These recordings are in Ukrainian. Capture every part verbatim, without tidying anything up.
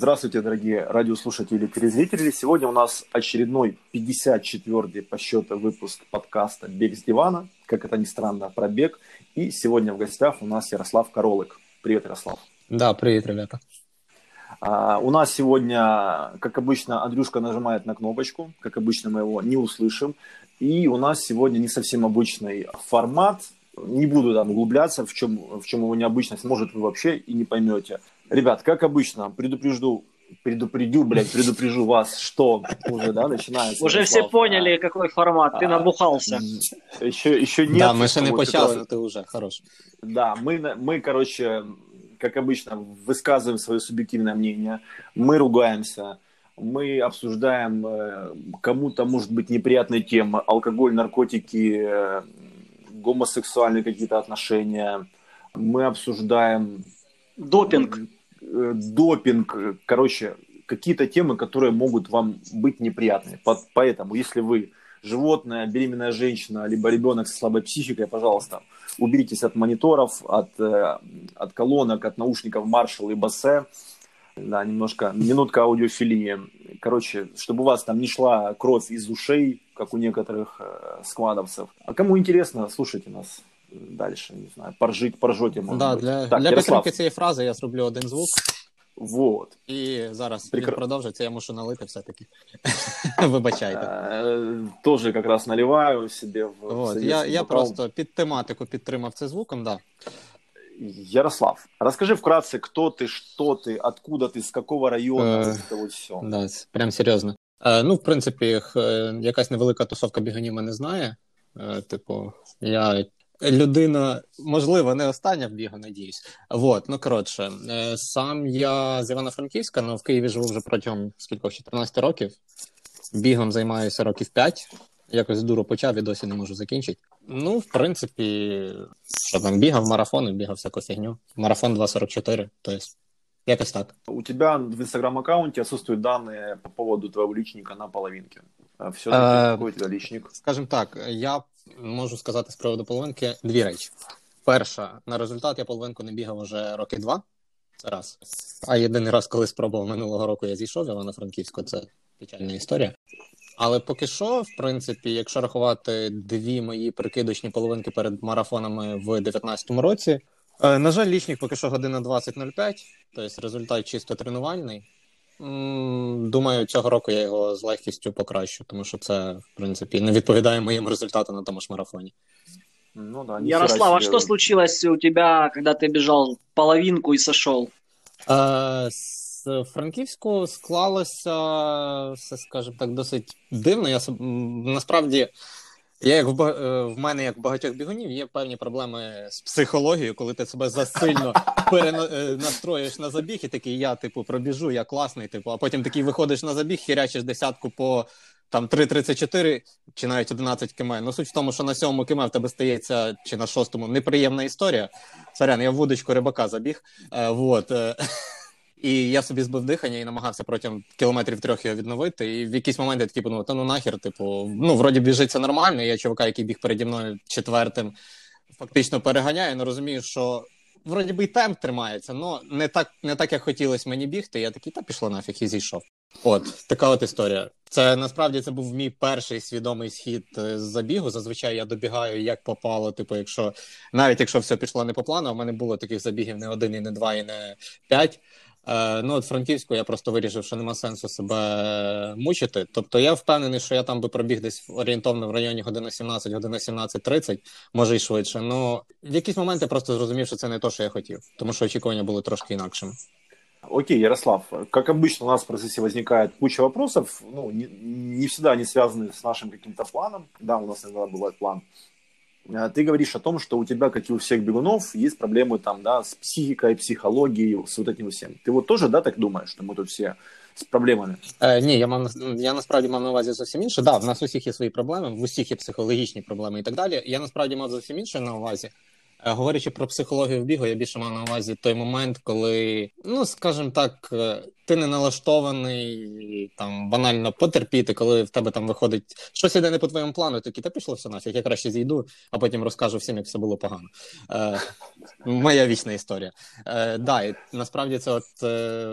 Здравствуйте, дорогие радиослушатели и телезрители. Сегодня у нас очередной пятьдесят четвёртый по счету выпуск подкаста «Бег с дивана». Как это ни странно, про бег. И сегодня в гостях у нас Ярослав Королык. Привет, Ярослав. Да, привет, ребята. А, у нас сегодня, как обычно, Андрюшка нажимает на кнопочку. Как обычно, мы его не услышим. И у нас сегодня не совсем обычный формат. Не буду там углубляться, в чем, в чем его необычность. Может, вы вообще и не поймете. Ребят, как обычно, предупрежду, предупредю, блядь, предупрежу вас, что уже, да, начинается. Уже все поняли, какой формат, ты набухался. Еще, еще нет. Да, ми ще не почали, но ти вже, хорош. Да, мы, мы, короче, как обычно, высказываем свое субъективное мнение, мы ругаемся, мы обсуждаем кому-то, может быть, неприятные темы, алкоголь, наркотики, гомосексуальные какие-то отношения, мы обсуждаем... Допинг. Допинг, короче, какие-то темы, которые могут вам быть неприятны. Поэтому, если вы животное, беременная женщина, либо ребенок со слабой психикой, пожалуйста, уберитесь от мониторов, от, от колонок, от наушников Marshall и Bose. Да, немножко, минутка аудиофилии. Короче, чтобы у вас там не шла кровь из ушей, как у некоторых э, сквадовцев. А кому интересно, слушайте нас дальше, не знаю, поржить, поржете, може да, бути. Для, Так, для Ярослав. підтримки цієї фрази я зроблю один звук. Вот. І зараз Прекра... він продовжиться, я мушу налити все-таки. Вибачайте. Тоже как раз наливаю себе в вот. Я, я просто під тематику підтримав це звуком, да. Ярослав, расскажи вкратце, кто ты, что ты, откуда ты, с какого района, э, это вот все. Да, прям серйозно. Е, ну, в принципі, е, якась невелика тусовка біганів мене знає. Е, типу, я людина, можливо, не остання в бігу, надіюсь. Вот, ну, коротше, е, сам я з Івано-Франківська, але в Києві живу вже протягом скількох, чотирнадцять років. Бігом займаюся років п'ять. Якось дуру почав і досі не можу закінчити. Ну, в принципі, що там, бігав марафони, бігав всяку фігню. Марафон два сорок чотири, то есть, якось так. У тебя в инстаграм-аккаунте отсутствуют данные по поводу твоего личника на половинке. Все-таки а, какой у тебя личник? Скажем так, я можу сказати з приводу половинки дві речі. Перша, на результат я половинку не бігав вже роки два, це раз. А єдиний раз, коли спробував минулого року, я зійшов Івано-Франківську, це печальна історія. Але поки що, в принципі, якщо рахувати дві мої прикидочні половинки перед марафонами в дев'ятнадцятому році, е, на жаль, лічник поки що година двадцять нуль п'ять, тобто результат чисто тренувальний. М, думаю, цього року я його з легкістю покращу, тому що це, в принципі, не відповідає моєму результату на тому ж марафоні. Ну, да, Ярослав, а что случилось у тебя, когда ты бежал половинку и сошел? Е, З Франківську склалося, все, скажімо так, досить дивно. Я, насправді, я, як в, в мене, як в багатьох бігунів, є певні проблеми з психологією, коли ти себе засильно перенастроїш на забіг, і такий, я, типу, пробіжу, я класний, типу, а потім такий виходиш на забіг, хірячиш десятку по там три тридцять чотири, чи навіть одинадцять км. Ну, суть в тому, що на сьомому км в тебе стається, чи на шостому, неприємна історія. Сорян, я в вудочку рибака забіг. Е, вот. І я собі збив дихання і намагався протягом кілометрів трьох його відновити. І в якийсь момент я такий подумав, та ну нахер, типу, ну, вроді біжиться нормально, я чувака, який біг переді мною четвертим, фактично переганяю, але розумію, що вроді би і темп тримається, але не так, не так, як хотілося мені бігти. Я такий, та пішло нафіг, і зійшов. От, така от історія. Це, насправді, це був мій перший свідомий схід з забігу. Зазвичай я добігаю, як попало, типу, якщо, навіть якщо все пішло не по плану, а в мене було таких забігів не один, і не два, і не п'ять. Е, ну, от Франківську я просто вирішив, що нема сенсу себе мучити. Тобто я впевнений, що я там би пробіг десь орієнтовно в районі година сімнадцять, година сімнадцять тридцять, може і швидше. Ну, в якийсь момент я просто зрозумів, що це не те, що я хотів, тому що очікування були трошки інакшими. Окей, Ярослав, как обычно у нас в процессе возникает куча вопросов, ну, не, не всегда они связаны с нашим каким-то планом, да, у нас иногда бывает план. Ты говоришь о том, что у тебя, как и у всех бегунов, есть проблемы там, да, с психикой, психологией, с вот этим всем. Ты вот тоже, да, так думаешь, что мы тут все з проблемами? Е, ні, я, мав, я насправді мав на увазі зовсім інше. Так, да, в нас усіх є свої проблеми, в усіх є психологічні проблеми і так далі. Я насправді мав зовсім інше на увазі. Е, говорячи про психологію в бігу, я більше мав на увазі той момент, коли, ну, скажімо так, ти не налаштований там банально потерпіти, коли в тебе там виходить щось іде не по твоєму плану, такий, та пішло все нафіг, я краще зійду, а потім розкажу всім, як все було погано. Е, моя вічна історія. Е, да, і насправді це от е,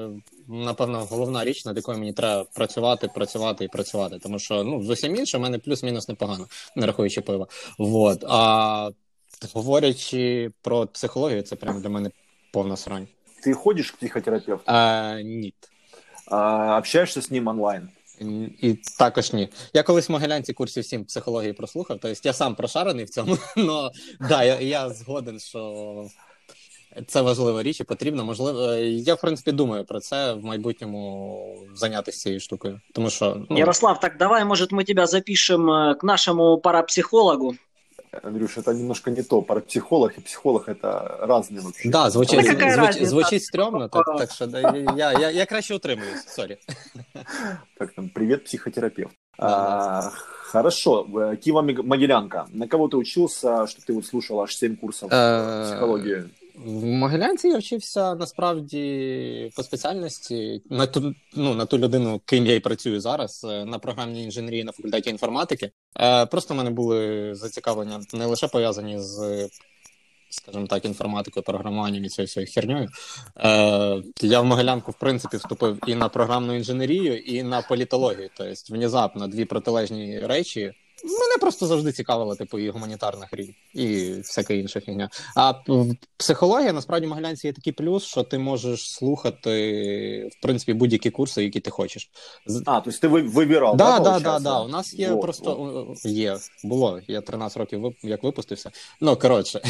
напевно, головна річ, над якою мені треба працювати, працювати і працювати. Тому що, ну, з усім іншим, в мене плюс-мінус непогано, не рахуючи пива. Вот. А говорячи про психологію, це прям для мене повна срань. Ты ходишь к психотерапевту? А, ні. А, общаешься с ним онлайн? І також ні. Я колись в Могилянці курсів сім психології прослухав, тобто я сам прошарений в цьому, але да, я, я згоден, що це важлива річ і потрібно. Можливо, я, в принципі, думаю про це в майбутньому зайнятися цією штукою. Тому що, ну... Ярослав, так давай, может, мы тебя запишем к нашему парапсихологу. Андрюш, это немножко не то. Парапсихолог и психолог – это разные вообще. Да, звучить, да звуч, звучить стрьомно, так, так що да, я, я, я краще утримуюсь, сорі. Так, там, привет, психотерапевт. Да, а, да. Хорошо, Киево-Могилянка. На кого ты учился, что ты вот слушал аж семь курсов психологии? В Могилянці я вчився, насправді, по спеціальності, на ту, ну, на ту людину, ким я і працюю зараз, на програмній інженерії на факультеті інформатики. Просто в мене були зацікавлення не лише пов'язані з, скажімо так, інформатикою, програмуванням і цією всією херньою. Я в Могилянку, в принципі, вступив і на програмну інженерію, і на політологію. Тобто, внезапно, дві протилежні речі. Мене просто завжди цікавила, типу, і гуманітарна хрінь, і всяка інша фігня. А психологія, насправді, в Могилянці є такий плюс, що ти можеш слухати, в принципі, будь-які курси, які ти хочеш. А, тобто ти вибирав, да, да, да, да, да. У нас є вот, просто... вот. Є, було. Я тринадцять років як випустився. Ну, коротше.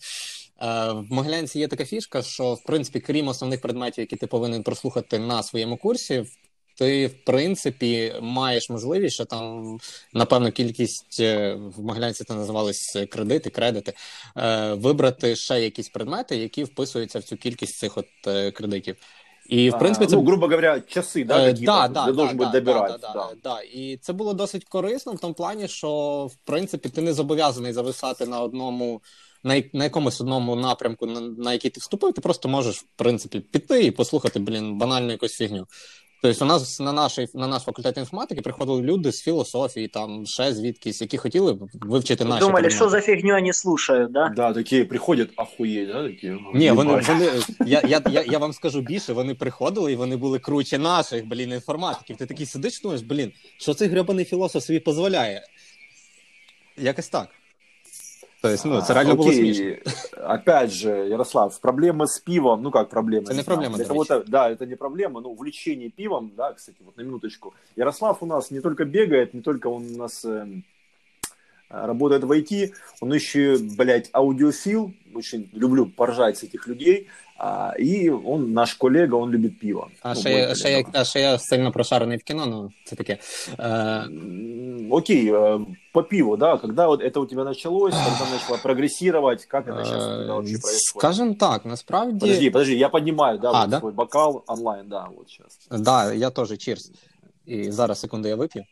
В Могилянці є така фішка, що, в принципі, крім основних предметів, які ти повинен прослухати на своєму курсі, ти, в принципі, маєш можливість, що там, напевно, кількість, в Могилянці це називались кредити, кредити, вибрати ще якісь предмети, які вписуються в цю кількість цих от кредитів. І, в принципі, це... Ну, грубо говоря, часи, да, какие-то, да, да, ти да, должен да, бути добирати. Да, да, да. да, да. І це було досить корисно в тому плані, що, в принципі, ти не зобов'язаний зависати на одному, на, на якомусь одному напрямку, на, на який ти вступив, ти просто можеш, в принципі, піти і послухати, блін, банальну якусь фігню. Тобто у нас на наш, на наш факультет інформатики приходили люди з філософії, там, ще звідкись, які хотіли вивчити наші Думали, предмети. що за фігню вони слушають, да? Да, такі приходять, ахуєть, да, такі. Ні, вони, вони я, я, я, я вам скажу більше, вони приходили і вони були круче наших, блін, інформатиків. Ти такий сидиш, думаєш, блін, що цей гребаний філософ собі дозволяє? Якось так. Тобто, ну, це реально а, було смішно. Опять же, Ярослав, проблемы с пивом, ну как проблемы? Это не проблема, для кого-то, да, это не проблема, но увлечение пивом, да, кстати, вот на минуточку. Ярослав у нас не только бегает, не только он у нас э, работает в ай ти, он еще, блядь, аудиофил, очень люблю поржать с этих людей, а, и он наш колега, он любит пиво. А, ну, ще, я, ще, я, а ще я сильно прошарений в кіно, ну, це таке. Е... Окей, по пиву, да, когда вот это у тебя началось, когда начало прогрессировать, как это сейчас когда вообще происходит? Скажем так, насправді... Подожди, подожди, я поднимаю, да, а, вот да? свой бокал онлайн, да, вот сейчас. Да, я тоже, чирс. І зараз, секунду, я вип'ю.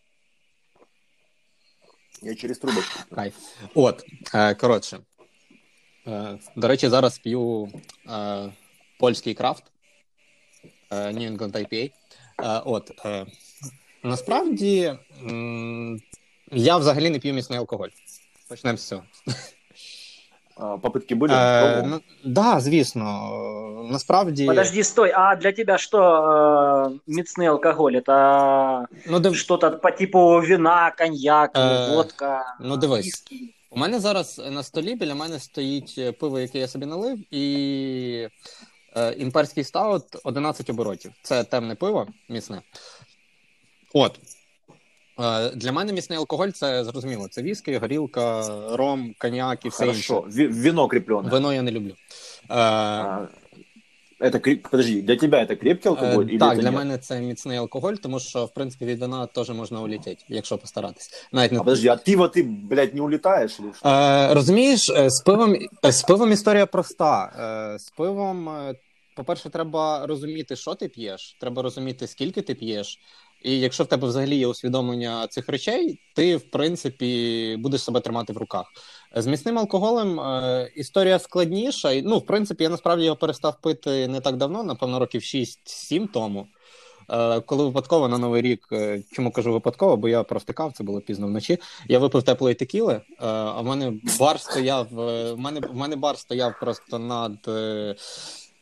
Я через трубочку. Кайф. От, е, коротше. Е, до речі, зараз п'ю е, польський крафт, е, New England ай пі ей. Е, от, е, насправді, м, я взагалі не п'ю міцний алкоголь. Почнемо з цього. А, попытки были? Е, ну, да, звісно. Насправді... Подожди, стой, а для тебя что э, міцний алкоголь? Это ну, див... что-то по типу вина, коньяк, е, водка, ну, дивись. виски? У мене зараз на столі біля мене стоїть пиво, яке я собі налив, і е, імперський стаут одинадцять оборотів. Це темне пиво, міцне. От. Е, для мене міцний алкоголь, це зрозуміло. Це віскі, горілка, ром, коньяк і все Хорошо. інше. Вино крепленое. Вино я не люблю. Е, а, это, подожди, для тебя это крепкий алкоголь? Е, или так, это для нет? мене це міцний алкоголь, тому що, в принципі, від вина теж можна улетіти, якщо постаратись. Навіть не... А подожди, от пива ты, блядь, не улетаешь? Или что? Е, розумієш, з пивом, з пивом історія проста. Е, з пивом, по-перше, треба розуміти, що ти п'єш, треба розуміти, скільки ти п'єш. І якщо в тебе взагалі є усвідомлення цих речей, ти, в принципі, будеш себе тримати в руках. З міцним алкоголем е, історія складніша. Ну, в принципі, я насправді його перестав пити не так давно, напевно, років шість-сім тому. Е, коли випадково на Новий рік, е, чому кажу випадково, бо я провтикав, це було пізно вночі, я випив теплої текіли, е, а в мене бар стояв, е, в мене, в мене бар стояв просто над... Е,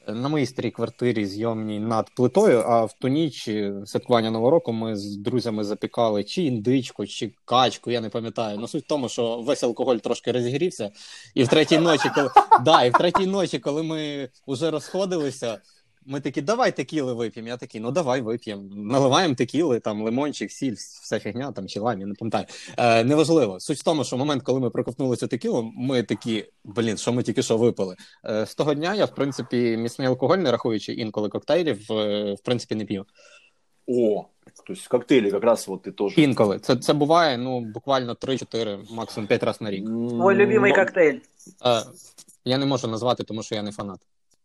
на моїй старій квартирі зйомній над плитою, а в ту ніч святкування Нового року ми з друзями запікали чи індичку, чи качку, я не пам'ятаю. Ну, суть в тому, що весь алкоголь трошки розігрівся, і в третій ночі, коли, да, і в третій ночі, коли ми вже розходилися, ми такі, давай текіли вип'ємо. Я такий, ну давай вип'ємо. Наливаємо текіли, там лимончик, сіль, вся фігня, там чи лайм, я не пам'ятаю. Е, неважливо. Суть в тому, що в момент, коли ми проковтнули цю текілу, ми такі, блін, що ми тільки що випили. Е, з того дня я, в принципі, міцний алкоголь, не рахуючи інколи коктейлів, е, в принципі, не п'ю. О, то есть коктейли как раз вот ты тоже. Інколи. Це, це буває, ну, буквально три-чотири, максимум п'ять разів на рік. Твой любимый Но- коктейль. Е, я не можу назвати, тому що я не фанат.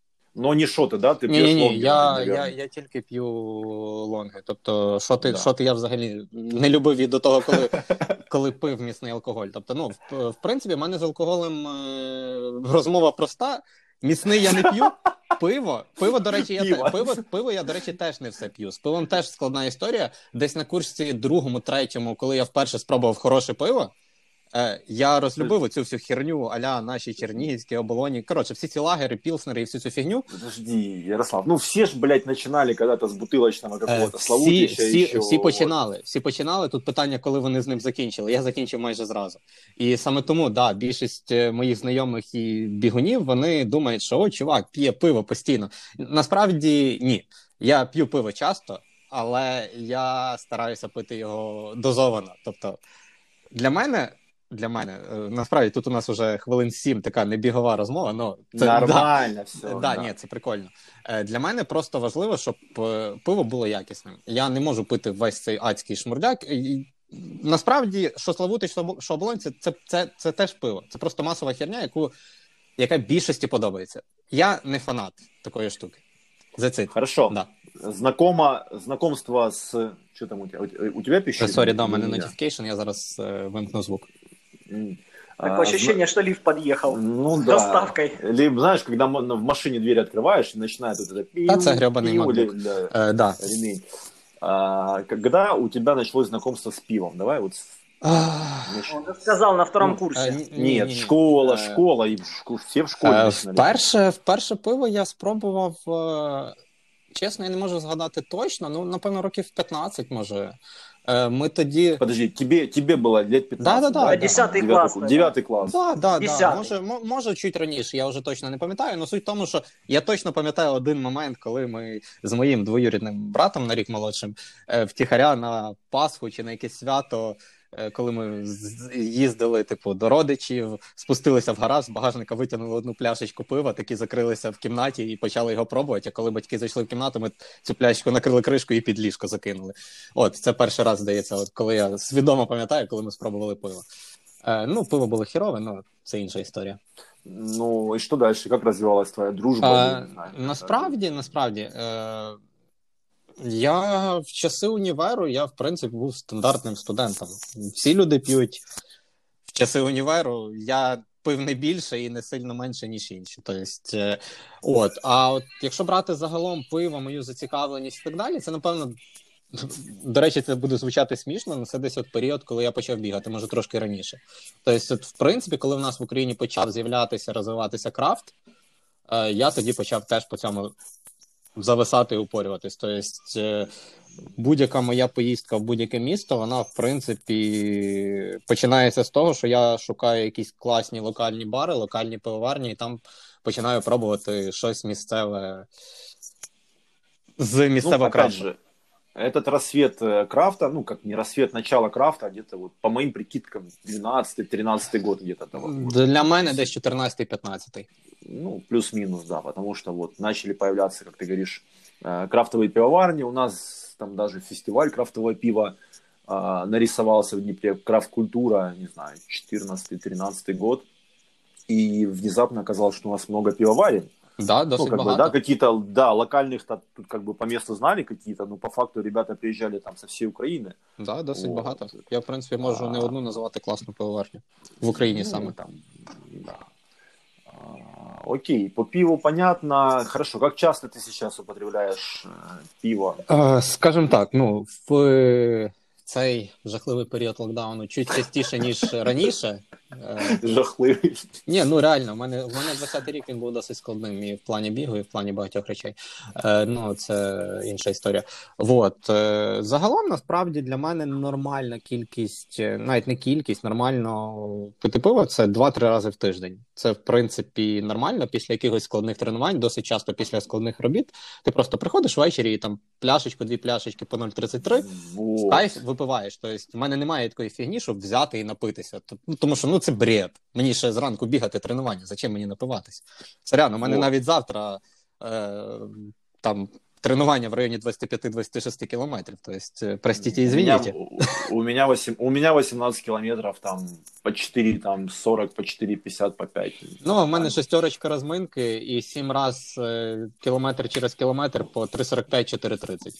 Но не шоты, да? Ты Ні, пьешь ні, ні, лонгер, я, наверное. я, я тільки п'ю лонги. Тобто, шоти, Да. шоти я взагалі не любив і до того, коли, коли пив міцний алкоголь. Тобто, ну, в, в принципі, в мене з алкоголем е, розмова проста. Міцний я не п'ю. Пиво, пиво, до речі, я Пиво. те, пиво, пиво я, до речі, теж не все п'ю. З пивом теж складна історія. Десь на курсі другому, третьому, коли я вперше спробував хороше пиво, е, я розлюбив цю всю херню а-ля наші чернігівські оболоні. Коротше, всі ці лагери, пілснери і всю цю фігню. Подожди, Ярослав, ну все ж, блядь, начинали когда-то с бутылочного Е, какого-то Всі, Славутича всі, еще. всі починали. Всі починали. Тут питання, коли вони з ним закінчили. Я закінчив майже зразу. І саме тому, да, більшість е, моїх знайомих і бігунів, вони думають, що о, чувак, п'є пиво постійно. Насправді, ні. Я п'ю пиво часто, але я стараюся пити його дозовано. Тобто, для мене, для мене, е, насправді, тут у нас вже хвилин сім така небігова розмова, но це, да, Нормально все. Е, Да, ні, це прикольно. Е, Для мене просто важливо, щоб е, пиво було якісним. Я не можу пити весь цей адський шмурдяк. І, насправді, що Славутич, що що Оболонь, це, це, це, це теж пиво. Це просто масова херня, яку, яка більшості подобається. Я не фанат такої штуки. That's it. Хорошо. Да. Знакомо, знакомство с... Что там у тебя? У тебя пищит? Сорі, да, у мене Или у меня? notification, я зараз е, вимкну звук. М. Такое А, ощущение, что лифт подъехал. Ну С да. доставкой. Либо, знаешь, когда м- в машине дверь открываешь и начинает вот это пиу, Да, це гребаний пиу, MacBook. или, да, Е, да. ремень. А, когда у тебя началось знакомство с пивом? Давай вот... с- Ах. нач- Он же сказал на втором Ну, курсе. Е, ні- ні- Нет, ні- ні. школа, Е, школа, и в шку- все в школе Е, начинали. Вперше, вперше пиво я спробував, е, чесно, я не можу згадати точно, ну, напевно, років п'ятнадцять, може. Е, Ми тоді... Подожди, тебе, тебе было лет пятнадцать, Да-да-да, да? да. Десятый Девятый класс, ку- Девятый класс. Да, да, да. Десятий. Може, мо- може, чуть раніше, я вже точно не пам'ятаю, але суть в тому, що я точно пам'ятаю один момент, коли ми з моїм двоюрідним братом на рік молодшим е, втіхаря на Пасху чи на якесь свято, е, коли ми з- їздили, типу, до родичів, спустилися в гараж, з багажника витягнули одну пляшечку пива, такі закрилися в кімнаті і почали його пробувати, а коли батьки зайшли в кімнату, ми цю пляшечку накрили кришкою і під ліжко закинули. От, це перший раз, здається, от коли я свідомо пам'ятаю, коли ми спробували пиво. Е, ну, пиво було хірове, ну, це інша історія. Ну, и что дальше? Как развивалась твоя дружба? Е, Я не знаю. насправді, насправді, е, я в часи універу, я, в принципі, був стандартним студентом. Всі люди п'ють в часи універу, я пив не більше і не сильно менше, ніж інші. Тобто, е, от, а от якщо брати загалом пиво, мою зацікавленість і так далі, це, напевно, до речі, це буде звучати смішно, але це десь от період, коли я почав бігати, може трошки раніше. Тобто, от, в принципі, коли в нас в Україні почав з'являтися, розвиватися крафт, е, я тоді почав теж по цьому зависати і упорюватись. Тобто, е, будь-яка моя поїздка в будь-яке місто, вона, в принципі, починається з того, що я шукаю якісь класні локальні бари, локальні пивоварні, і там починаю пробувати щось місцеве з Ну, місцевого опять крафту. же, этот рассвет э, крафта, ну, как не рассвет, начало крафта, где-то вот, по моим прикидкам, двенадцатый-тринадцатый год где-то того. Для мене десь чотирнадцятий-п'ятнадцятий. Ну, плюс-минус, да, потому что вот начали появляться, как ты говоришь, э, крафтовые пивоварни, у нас там даже фестиваль крафтового пива э, нарисовался в Днепре, крафт-культура, не знаю, четырнадцатый-тринадцатый год, и внезапно оказалось, что у нас много пивоварен. Да, Ну, досить как бы, багато. да, какие-то, да, локальных тут как бы по месту знали какие-то, но по факту ребята приезжали там со всей Украины. Да, досить Вот. багато. Я, в принципі, можу А. не одну назвати класну пивоварню. В Україні Ну, саме. там, да. А, окей, по пиву понятно. Хорошо, как часто ты сейчас употребляешь э, пиво? Е, Скажімо так, ну, в цей жахливий період локдауну чуть частіше, ніж раніше. Е, Жахливий. Ні, ну реально, в мене, в мене двадцятий рік він був досить складним і в плані бігу, і в плані багатьох речей. Е, ну, це інша історія. Вот. Е, загалом, насправді, для мене нормальна кількість, навіть не кількість, нормально пити пиво – це два-три рази в тиждень. Це, в принципі, нормально. Після якихось складних тренувань, досить часто після складних робіт, ти просто приходиш ввечері і там пляшечку, дві пляшечки по нуль тридцять три, в кайф випиваєш. Тобто, в мене немає такої фігні, щоб взяти і напитися. Ну, тому що, ну, це бред. Мені ще зранку бігати тренування, зачем мені напиватися? Це реально, у мене навіть завтра е, там тренування в районі двадцять п'ять - двадцять шість кілометрів. Тобто, простите, извините. У меня, у, меня восемь, у меня восемнадцать километров, там, по четыре, там, сорок, по четыре пятьдесят, по пять. Ну, у мене шестерочка розминки і сім раз е, кілометр через кілометр по три сорок п'ять - чотири тридцять.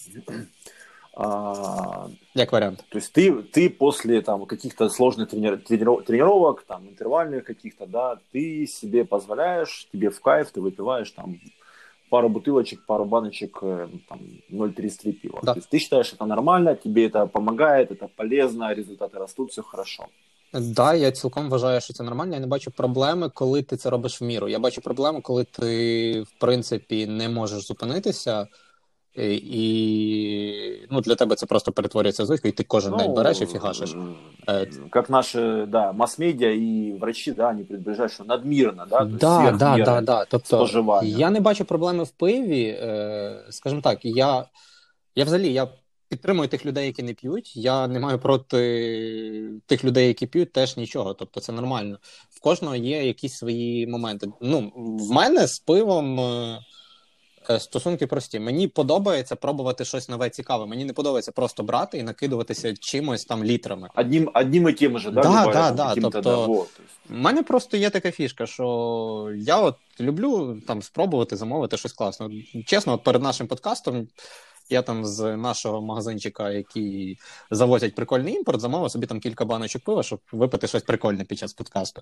А, Як варіант. то есть ты, ты после там, каких-то сложных трени- трени- тренировок, там, интервальных каких-то, да, ты себе позволяешь, тебе в кайф, ты выпиваешь там пару бутылочек, пару баночек там, ноль тридцать три пива. Да. То есть ты считаешь это нормально, тебе это помогает, это полезно, результаты растут, все хорошо. Так, да, я цілком вважаю, що це нормально. Я не бачу проблеми, коли ти це робиш в міру. Я бачу проблему, коли ти, в принципі, не можеш зупинитися, і, і ну, для тебе це просто перетворюється в звичку, і ти кожен Ну, день береш і фігашиш. Как наши, да, масс-медиа и врачи, да, они предупреждают, что надмирно, да, то есть Да, сверх да, меры да, да. Тобто, споживання. я не бачу проблеми в пиві. Е, скажімо так, я, я взагалі я підтримую тих людей, які не п'ють. Я не маю проти тих людей, які п'ють, теж нічого. Тобто це нормально. В кожного є якісь свої моменти. Ну, в мене з пивом е, стосунки прості. Мені подобається пробувати щось нове, цікаве. Мені не подобається просто брати і накидуватися чимось там літрами. Одним, одним и тем же, да, Да, бывает, да, там, да, каким-то, тобто, да, вот. У мене просто є така фішка, що я от люблю там спробувати замовити щось класне. Чесно, от перед нашим подкастом я там з нашого магазинчика, який завозять прикольний імпорт, замовив собі там кілька баночок пива, щоб випити щось прикольне під час подкасту.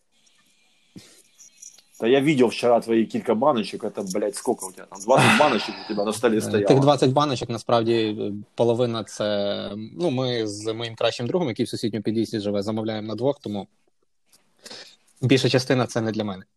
Да я видел вчера твои кілька баночек, это, блядь, сколько у тебя там? двадцать баночек у тебя на столе стояло. Тих двадцять баночок, насправді, половина це... Ну, ми з моїм кращим другом, який в сусідньому під'їзді живе, замовляємо на двох, тому більша частина це не для мене.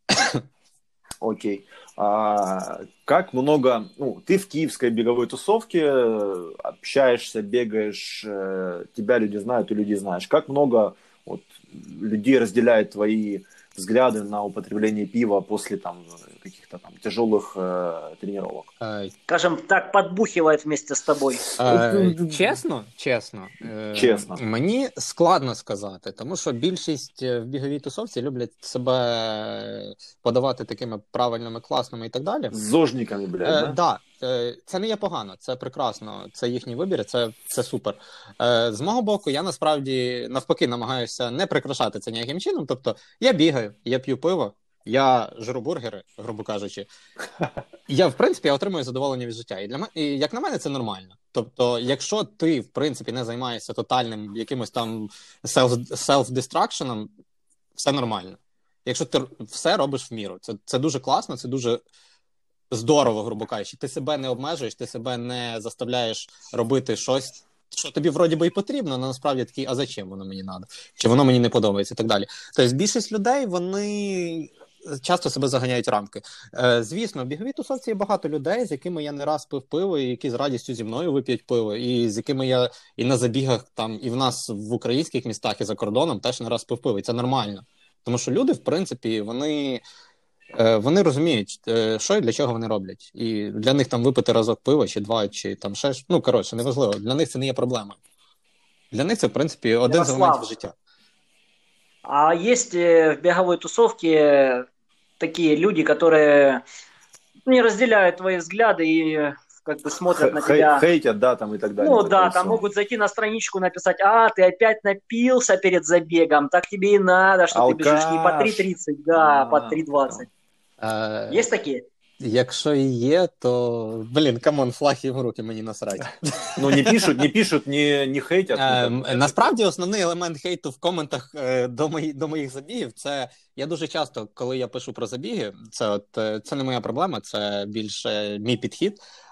Окей. А, как много... Ну, ты в киевской беговой тусовке общаешься, бегаешь, тебя люди знают, и люди знаешь. Как много вот, людей разделяет твои взгляды на употребление пива после там каких-то там тяжелых э, тренировок? Скажем так, подбухивает вместе с тобой. Е, чесно, чесно, е, Чесно. Мені складно сказати, тому що більшість в біговій тусовці люблять себе подавати такими правильними, класними і так далі. З зожниками, блядь, Е, да? да, е, це не є погано, це прекрасно, це їхній вибір, це, це супер. Е, з мого боку, я насправді навпаки намагаюся не прикрашати це ніяким чином, тобто я бігаю, я п'ю пиво, я жру бургери, грубо кажучи. Я, в принципі, я отримую задоволення від життя. І, для мене, і як на мене, це нормально. Тобто, якщо ти, в принципі, не займаєшся тотальним якимось там self-destruction, все нормально. Якщо ти все робиш в міру. Це, це дуже класно, це дуже здорово, грубо кажучи. Ти себе не обмежуєш, ти себе не заставляєш робити щось, що тобі вроді би і потрібно, але насправді такий, а зачем воно мені треба? Чи воно мені не подобається і так далі. Тобто більшість людей, вони часто себе заганяють в рамки. Е, звісно, в біговій тусовці є багато людей, з якими я не раз пив пиво, і які з радістю зі мною вип'ють пиво, і з якими я і на забігах, там, і в нас в українських містах, і за кордоном теж не раз пив пиво, і це нормально. Тому що люди, в принципі, вони... Вони розуміють, що і для чого вони роблять. І для них там випити разок пива, чи два, чи там ще, ну, коротше, неважливо. Для них це не є проблема. Для них це, в принципі, один Ярослав, з елементів життя. А есть в беговой тусовке такие люди, которые не разделяют твои взгляды и как бы смотрят на тебя. Хейтят, да, там и так далее. Ну да, там могут зайти на страничку, написать: а, ты опять напился перед забегом, так тебе и надо, что Алкаш. Ты бежишь не по три тридцать, да, а по три двадцать. А, Есть такі? Якщо і є, то, блін, камон, флаг їм в руки, мені насрать. Ну, не пишуть, не пишуть, не, не хейтять. Е, насправді, основний елемент хейту в коментах е, до, мої, до моїх забігів, це я дуже часто, коли я пишу про забіги, це, от, це не моя проблема, це більше мій підхід.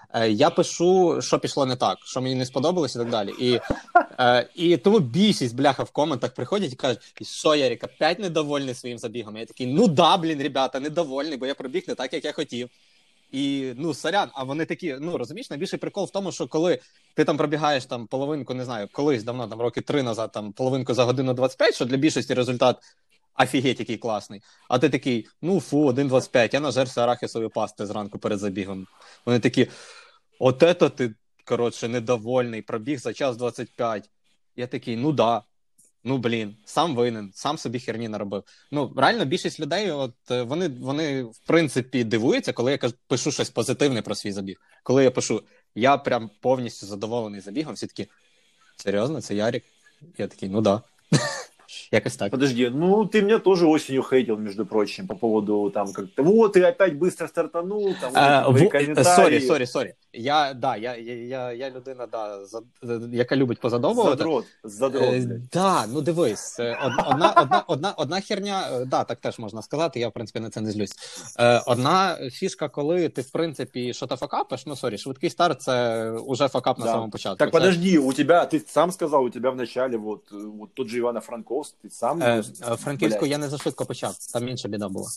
Е, я пишу, що пішло не так, що мені не сподобалось і так далі. І, е, і тому більшість, бляха, в коментах приходять і кажуть, що, Ярик, опять недовольний своїм забігом? Я такий, ну да, блін, ребята, недовольний, бо я пробіг не так, як я хотів. І, ну, сорян, а вони такі, ну, розумієш, найбільший прикол в тому, що коли ти там пробігаєш там половинку, не знаю, колись давно, там роки три назад, там половинку за годину двадцять п'ять, що для більшості результат офігеть який класний. А ти такий, ну, фу, один двадцять п'ять, я нажерся арахісової пасти зранку перед забігом. Вони такі, от ето ти, коротше, недовольний, пробіг за час двадцять п'ять. Я такий, ну да. Ну, блін, сам винен, сам собі херні наробив. Ну, реально, більшість людей, от, вони, вони, в принципі, дивуються, коли я кажу, пишу щось позитивне про свій забіг. Коли я пишу, я прям повністю задоволений забігом, всі такі, серйозно, це Ярик? Я такий, ну да. Якось так. Подожди, ну ты меня тоже осенью хейтил, между прочим, по поводу там как-то, вот, ты опять быстро стартанул, там, А, вот, в... комментарии. Сорі, сорі, сорі. Я, да, я, я, я, я людина, да, за, яка любить позадовувати. Задрот, задрот, е, блядь. Да, ну дивись, одна, одна, одна, одна херня, да, так теж можна сказати, я, в принципі, на це не злюсь. Одна фішка, коли ти, в принципі, що-то факапиш, ну, сорі, швидкий старт, це уже факап на Да. самому початку. Так, це... подожди, у тебя, ты сам сказал, у тебя в начале, вот, вот тот же Ивано-Франковск, ты сам... Е, Франківську блядь. я не зашвидко почав, там інша біда була.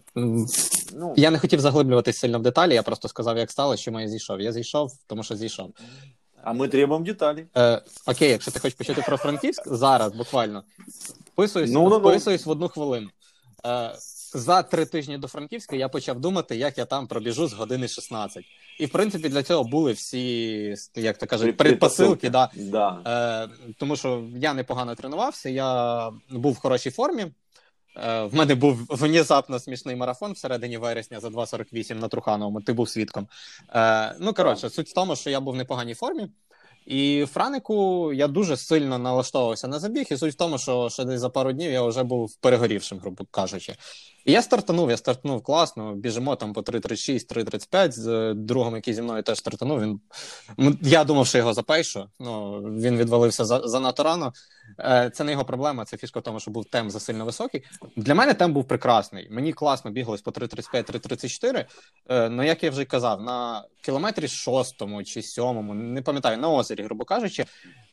Ну, Я не хотів заглиблюватись сильно в деталі, я просто сказав, як сталося, чому я зійшов. Я зійшов, тому що зійшов. а мы требуем деталей. Е, окей, якщо ти хочеш почути про Франківськ, зараз, буквально, вписуюсь, Ну, ну, ну. вписуюсь в одну хвилину. Е, за три тижні до Франківська я почав думати, як я там пробіжу з години шістнадцять. І, в принципі, для цього були всі, як то кажуть, предпосилки. Да. Да. Е, тому що я непогано тренувався, я був в хорошій формі. Е, в мене був внезапно смішний марафон всередині вересня за два сорок вісім на Трухановому, ти був свідком. Е, ну, коротше, суть в тому, що я був в непоганій формі. І в Франику я дуже сильно налаштовувався на забіг, і суть в тому, що ще десь за пару днів я вже був перегорівшим, грубо кажучи. І я стартанув, я стартанув класно, біжимо там по три тридцять шість, три тридцять п'ять, з другом, який зі мною теж стартанув, він... я думав, що його запейшу, ну, він відвалився за, занадто рано. Це не його проблема, це фішка в тому, що був темп засильно високий. Для мене темп був прекрасний, мені класно бігалось по три тридцять п'ять, три тридцять чотири, ну, як я вже казав, на кілометрі шостому чи сьомому, не пам'ятаю, на озері, грубо кажучи,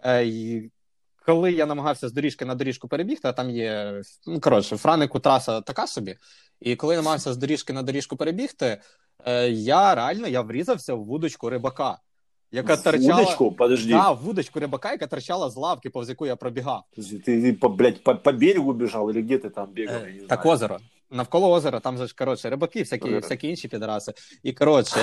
коли я намагався з доріжки на доріжку перебігти, а там є, ну, коротше, в Франику траса така собі, і коли я намагався з доріжки на доріжку перебігти, я реально, я врізався в вудочку рибака, яка торчала... Вудочку? Подожди. Да, в вудочку рибака, яка торчала з лавки, повз яку я пробігав. Ты, ты по, блядь, по, по берегу бежал или где ты там бегал? Е, я не так знаю. озеро. Навколо озера, там же ж, коротше, рибаки, всякі, всякі інші підраси. І, коротше...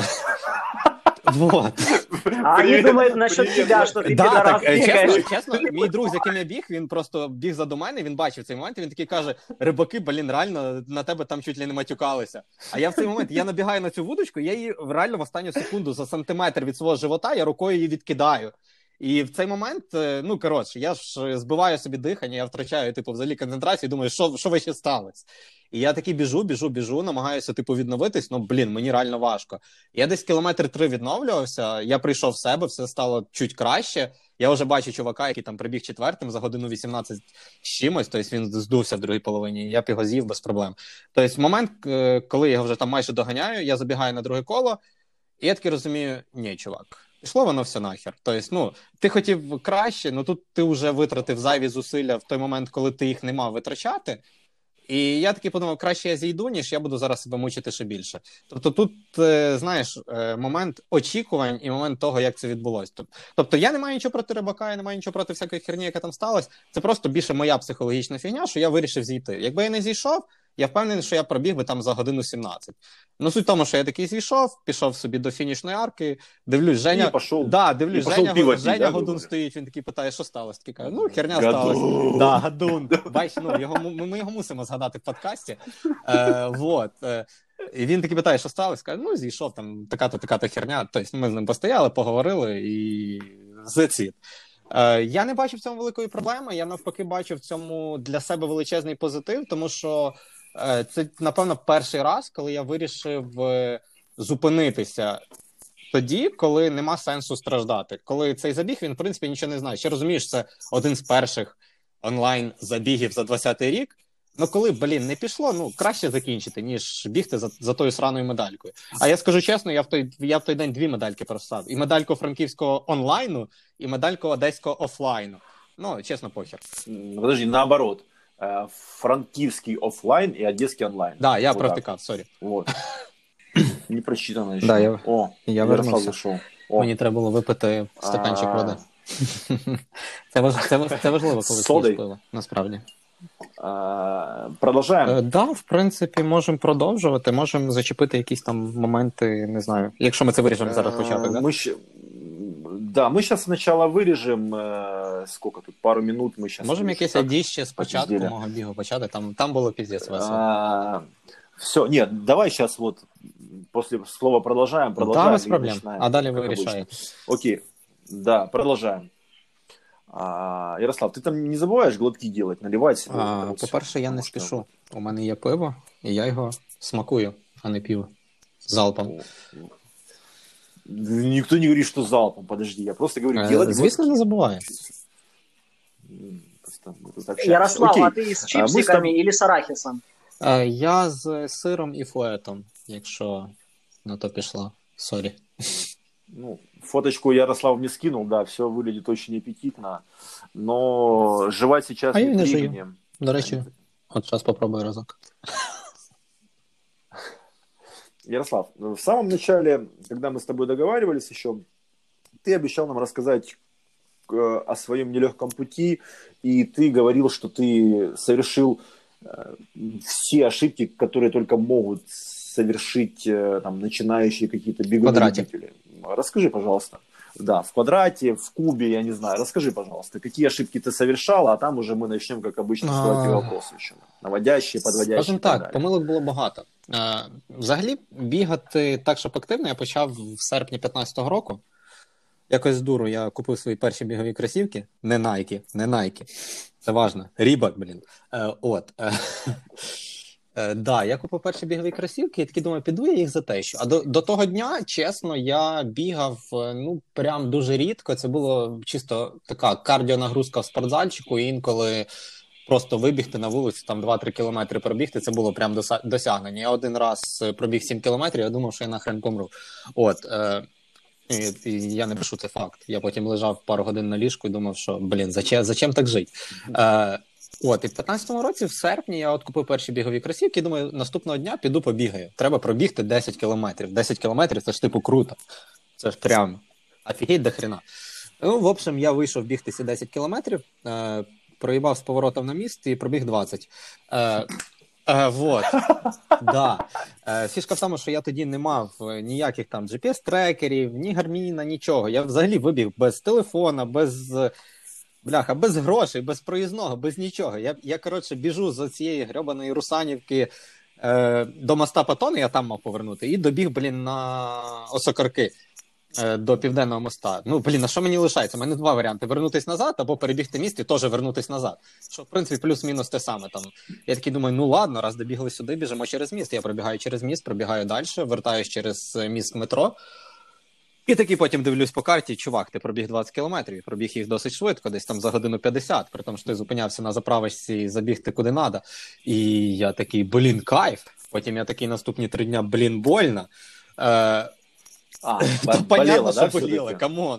Вот. А они думают насчет тебя, що ти да, підарас так, бігаєш. чесно, чесно, мій друг, з яким я біг, він просто біг заду мене, він бачив цей момент, і він такий каже, рибаки, блін, реально, на тебе там чуть ли не матюкалися. А я в цей момент, я набігаю на цю вудочку, я її реально в останню секунду за сантиметр від свого живота, я рукою її відкидаю. І в цей момент, ну, коротше, я ж збиваю собі дихання, я втрачаю, типу, взагалі концентрацію, думаю, що, що вище сталося? І я такий біжу, біжу, біжу, намагаюся, типу, відновитись, ну, блін, мені реально важко. Я десь кілометр три відновлювався, я прийшов в себе, все стало чуть краще. Я вже бачу чувака, який там прибіг четвертим за годину вісімнадцять з чимось, тобто він здувся в другій половині, я б його з'їв без проблем. Тобто момент, коли я його вже там майже доганяю, я забігаю на друге коло, і я таки розумію, ні, чувак, пішло воно все нахер. Тобто, ну, ти хотів краще, але тут ти вже витратив зайві зусилля в той момент, коли ти їх не мав витрачати. І я таки подумав, краще я зійду, ніж я буду зараз себе мучити ще більше. Тобто тут, знаєш, момент очікувань і момент того, як це відбулося. Тобто я не маю нічого проти рибака, я не маю нічого проти всякої херні, яка там сталася. Це просто більше моя психологічна фігня, що я вирішив зійти. Якби я не зійшов, я впевнений, що я пробіг би там за годину сімнадцять. Ну, суть в тому, що я такий зійшов, пішов собі до фінішної арки, дивлюсь, Женя... Пошел, да, дивлюсь, Женя, пиво Женя да, Годун говорю? стоїть, він такий питає, що сталося? Такий каже, ну, херня Гадун. сталася. Да, Гадун. Бач, ну, його, ми, ми його мусимо згадати в подкасті. Е, вот. Е, і він такий питає, що сталося? Каже, ну, зійшов, там така-то, така-то херня. Тобто ми з ним постояли, поговорили і зацід. Е, я не бачу в цьому великої проблеми, я навпаки бачу в цьому для себе величезний позитив, тому що е, це, напевно, перший раз, коли я вирішив е, зупинитися тоді, коли нема сенсу страждати. Коли цей забіг, він, в принципі, нічого не знає. Ще розумієш, це один з перших онлайн-забігів за двадцятий рік. Ну, коли, блін, не пішло, ну, краще закінчити, ніж бігти за, за тою сраною медалькою. А я скажу чесно, я в той, я в той день дві медальки просав. І медальку франківського онлайну, і медальку одеського офлайну. Ну, чесно, похер. Подожди, наоборот. Франківський офлайн і одеський онлайн. Да, я вот провтикав, сорі. Вот. Не прочитано ще. Да, я, О, я вернувся. Мені треба було випити стаканчик води. Це, важ, це, це важливо, коли ти пиво, насправді. А, продовжаємо? Так, да, в принципі, можемо продовжувати. Можемо зачепити якісь там моменти, не знаю. Якщо ми це виріжемо зараз початок, да? Ми ще... Да, мы сейчас сначала вырежем, э, сколько тут, пару минут мы сейчас... Можем якесь адіще спочатку мого бігу почати, там, там було пиздец весело. А, все, нет, давай сейчас вот после слова продолжаем, продолжаем. Да, без проблем, а далее вы решаете. Окей, да, продолжаем. А, Ярослав, ты там не забуваєш глотки делать, наливать себе? А, по-перше, я не спішу. У мене є пиво, і я його смакую, а не п'ю залпом. Никто не говорит, что залпом, подожди, я просто говорю, делать... Звісно, не забуваю. Ярослав, окей. А ты с чипсиками а, или с арахисом? Я з сиром і фуетом, якщо на то пішло. Сорі. Ну, фоточку Ярослав мне скинул, да, все выглядит очень аппетитно, но жевать сейчас а не времени. До речі, от зараз попробую разок. Ярослав, в самом начале, когда мы с тобой договаривались еще, ты обещал нам рассказать э, о своем нелегком пути, и ты говорил, что ты совершил э, все ошибки, которые только могут совершить э, там, начинающие какие-то беговые любители. Расскажи, пожалуйста. Да, в квадрате, в кубе, я не знаю. Расскажи, пожалуйста, какие ошибки ты совершал, а там уже мы начнем, как обычно, задавать вопросы еще. Наводящие, подводящие. Скажем так, так помилок було багато. Взагалі, бігати так, щоб активно, я почав в серпні п'ятнадцятого року. Якось з дуру я купив свої перші бігові кросівки. Не Nike, не Nike. Це важно. Reebok, блін. От. Так, да, я купив перші бігові кросівки і такий думаю, піду я їх затещу. А до, до того дня, чесно, я бігав, ну, прям дуже рідко. Це було чисто така кардіонагрузка в спортзальчику, і інколи просто вибігти на вулицю, там два-три кілометри пробігти, це було прям досягнення. Я один раз пробіг сім кілометрів, я думав, що я нахрен помру. От, е, і, і я не пишу, це факт. Я потім лежав пару годин на ліжку і думав, що, блін, зачем, зачем так жити? Е, От, і в п'ятнадцятому році, в серпні, я от купив перші бігові кросівки і думаю, наступного дня піду побігаю. Треба пробігти десять кілометрів. десять кілометрів – це ж типу круто. Це ж прям офігеть до хрена. Ну, в общем, я вийшов бігти ці десять кілометрів, е, проїбав з поворотом на міст і пробіг двадцять. Е, е, вот. Да. Е, фішка в тому, що я тоді не мав ніяких там джі пі ес-трекерів, ні гарміна, нічого. Я взагалі вибіг без телефона, без... Бляха, без грошей, без проїзного, без нічого. Я, я коротше, біжу з цієї грьобаної Русанівки е, до моста Патони, я там мав повернути, і добіг, блін, на Осокорки е, до Південного моста. Ну, блін, а що мені лишається? У мене два варіанти. Вернутись назад або перебігти міст і теж вернутись назад. Що, в принципі, плюс-мінус те саме. Там. Я такий думаю, ну ладно, раз добігли сюди, біжимо через міст. Я пробігаю через міст, пробігаю далі, вертаюсь через міст метро. І такий потім дивлюсь по карті, чувак, ти пробіг двадцять кілометрів, пробіг їх досить швидко, десь там за годину п'ятдесят, при тому, що ти зупинявся на заправочці і забігти куди надо. І я такий, блін, кайф. Потім я такий наступні три дня, блін, больно. Е, а, Та понятно, що боліло, камон.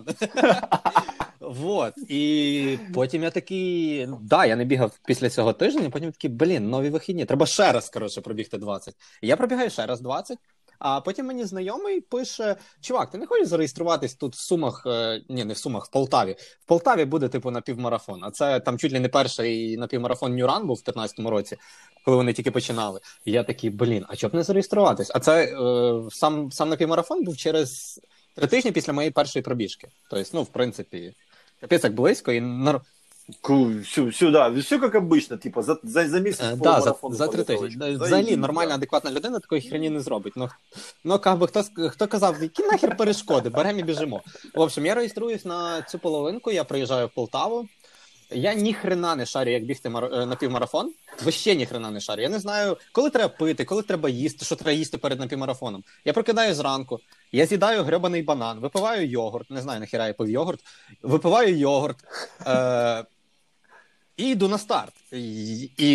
Вот. І потім я такий, да, я не бігав після цього тижня, потім такий, блін, нові вихідні, треба ще раз, коротше, пробігти двадцять. І я пробігаю ще раз двадцять. А потім мені знайомий пише, чувак, ти не хочеш зареєструватись тут в Сумах, е, ні, не в Сумах, в Полтаві. В Полтаві буде, типу, напівмарафон. А це там чуть ли не перший напівмарафон Нью-Ран був в п'ятнадцятому році, коли вони тільки починали. І я такий, блін, а чого б не зареєструватись? А це е, сам, сам напівмарафон був через три тижні після моєї першої пробіжки. Тобто, ну, в принципі, капець як близько і... Все, все, да, все как обычно, типа, за, за, за місяць по да, марафону. За, за три тижні. Взагалі, нормальна, адекватна людина такої хрені не зробить. Ну, ну как би, хто, хто казав, які нахер перешкоди, беремо і біжимо. В общем, я реєструюсь на цю половинку, я приїжджаю в Полтаву. Я ні хрена не шарю, як бігти мар... напівмарафон. Вообще ні хрена не шарю. Я не знаю, коли треба пити, коли треба їсти, що треба їсти перед напівмарафоном. Я прокидаю зранку, я з'їдаю гребаний банан, випиваю йогурт, не знаю, нахіра я пив йогурт, випиваю йогурт, е... і йду на старт. І, і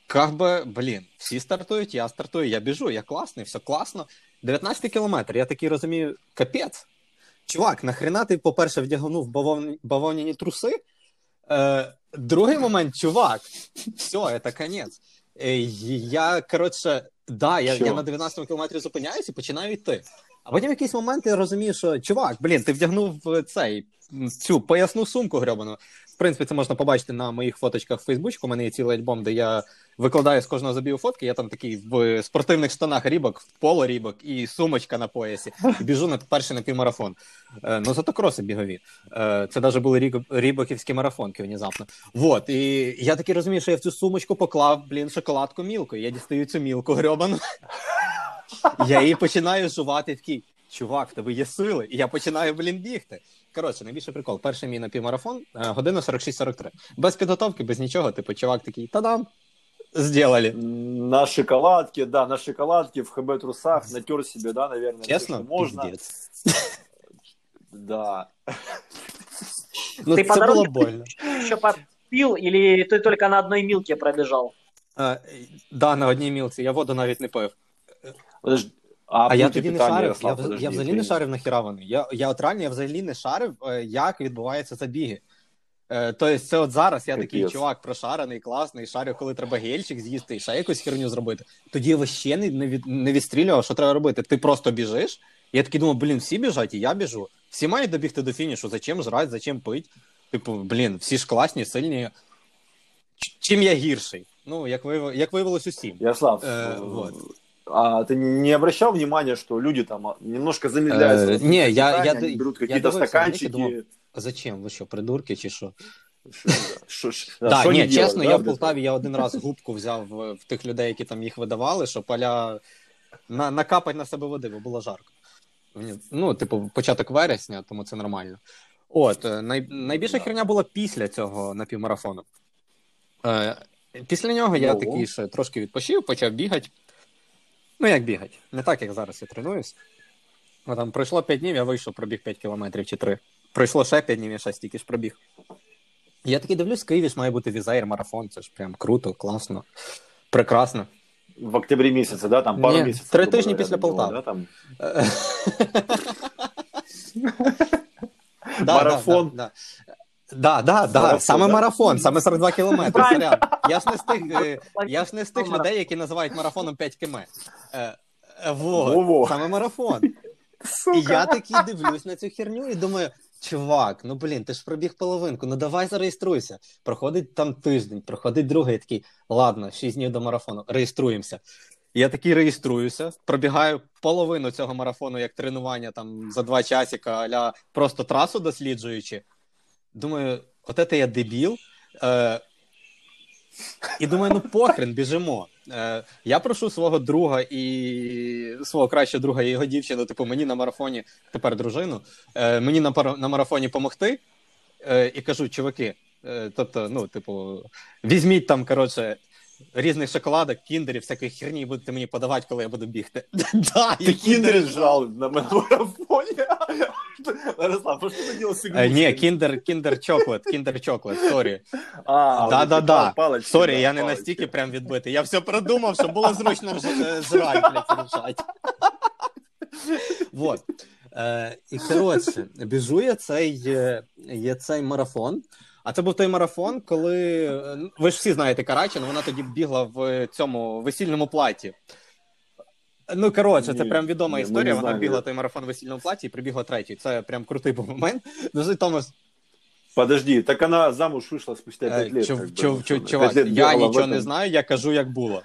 как би, блін, всі стартують, я стартую, я біжу, я класний, все класно. дев'ятнадцятий кілометр, я такий розумію, капець. Чувак, нахрена ти, по-перше, вдягнув бавовні, бавовняні труси? Е, другий момент, чувак, все, це конець. Е, я, коротше, да, я, я на дев'ятнадцятому кілометрі зупиняюсь і починаю йти. А потім в якийсь момент я розумію, що, чувак, блін, ти вдягнув цей, цю поясну сумку грьобану. В принципі, це можна побачити на моїх фоточках в Фейсбуці. У мене є цілий альбом, де я викладаю з кожного забігу фотки. Я там такий в спортивних штанах рібок, в поло рібок і сумочка на поясі. І біжу на перший напівмарафон. Е, ну, зато кроси бігові. Е, це навіть були ріб, рібоківські марафонки внезапно. Вот. І я таки розумію, що я в цю сумочку поклав, блін, шоколадку Мілку. Я дістаю цю Мілку грьобану. Я її починаю жувати, такий, чувак, в тебе є сили. І я починаю, блін, бігти. Коротше, найбільший прикол. Перший мій напівмарафон, година сорок шість сорок три. Без підготовки, без нічого. Типу, чувак такий, та-дам, сделали. На шоколадке, да, на шоколадке, в ХБ-трусах, натер себе, да, наверное. Честно? Все, можно. Пиздец. Да. Ну, ты це по було дороге больно. еще попил, или ты только на одной милке пробежал? А, да, на одній мілці. Я воду навіть не пив. Подожди. А, А я пункти тоді не питання, шарив. Ярослав, Я, подожди, я взагалі ти- не шарив нахіра вони. Я, я от реально, я взагалі не шарив, е, як відбуваються забіги. Е, тобто це от зараз я такий Капець. чувак прошарений, класний, шарю, коли треба гельчик з'їсти і ще якусь херню зробити. Тоді я вообще не, не, від, не відстрілював, що треба робити. Ти просто біжиш. Я такий думав, блін, всі біжать, і я біжу. Всі мають добігти до фінішу. Зачем жрати, зачем пить? Типу, блін, всі ж класні, сильні. Ч- Чим я гірший? Ну, як, вияв... як виявилось усім. Ярослав, Э, э, вот. а ты не обращал внимания, что люди там а, немножко замедляются? Э, в не, я- питании, я- они берут я какие-то дивився, стаканчики. знаєте, думав, Зачем? Ви що, придурки чи що? Шо- ш- Да, шо ні, они чесно, делают, я да, в Полтаві я один раз губку взяв в, в тих людей, які там їх видавали, що поля на, накапать на себе води, бо було жарко. Мені- Ну, типу, початок вересня, тому це нормально. От, е, най, найбільша херня була після цього напівмарафону. Е, після нього я Ну. такий ще трошки відпочив, почав бігати. Ну, як бігати? Не так, як зараз я тренуюсь. Ну, там пройшло п'ять днів, я вийшов, пробіг п'ять кілометрів чи три. Пройшло ще п'ять днів, я ще стільки ж пробіг. Я такий дивлюсь, в Києві ж має бути візаєр марафон, це ж прям круто, класно, прекрасно. В октябре месяце, да, там пару Не, месяцев. три грубо тижні говоря, після до него, Полтави. да, там. Да, Марафон. Да, да, да, да, да, Марафон, саме да? марафон, саме сорок два кілометри. Правильно. Сорян. Я ж не з тих, е, я ж не з тих людей, які називають марафоном п'ять кілометрів. Е, е, вот, Во-во. саме марафон. І я такий дивлюсь на цю херню і думаю, чувак, ну блін, ти ж пробіг половинку, ну давай зареєструйся. Проходить там тиждень, проходить другий, я такий, ладно, шість днів до марафону, реєструємося. Я такий реєструюся, пробігаю половину цього марафону як тренування там за два часика, аля просто трасу досліджуючи. Думаю, от це я дебіл. Е, і думаю, ну похрен, біжимо. Е, я прошу свого друга і свого кращого друга і його дівчину, типу, мені на марафоні, тепер дружину, е, мені на, пар- на марафоні помогти. Е, і кажу, чуваки, е, тобто, ну, типу, візьміть там, коротше, різних шоколадок, кіндерів, всякої херні, і будете мені подавати, коли я буду бігти. Да, Ты киндер жрал на марафоне. Ярослав, а что ты делал с Е, игрушками? Ні, кіндер, кіндер чоклет, кіндер чоклет, сорі. А, Да, вот да, эти да. палочки, Сорі, да, я не палочки. настільки прям відбитий. Я все продумав, щоб було зручно ж- е, жрать, блядь, рішать. Вот. Е, і, коротше, біжу я цей, е, є цей марафон. А це був той марафон, коли... е, Ви ж всі знаєте Карачину, вона тоді бігла в цьому весільному платі. Ну, коротше, це Ні, прям відома ні, ми історія. не Вона знаємо. бігла той марафон в весільному платі і прибігла третій. Це прям крутий був момент. Ну, суть в тому, Подожди, так она замуж вышла спустя Е, пять лет. чув- как бы, чув- ну, чув- пять Чувак, лет я бегала в нічого этом. не знаю, я кажу, як було.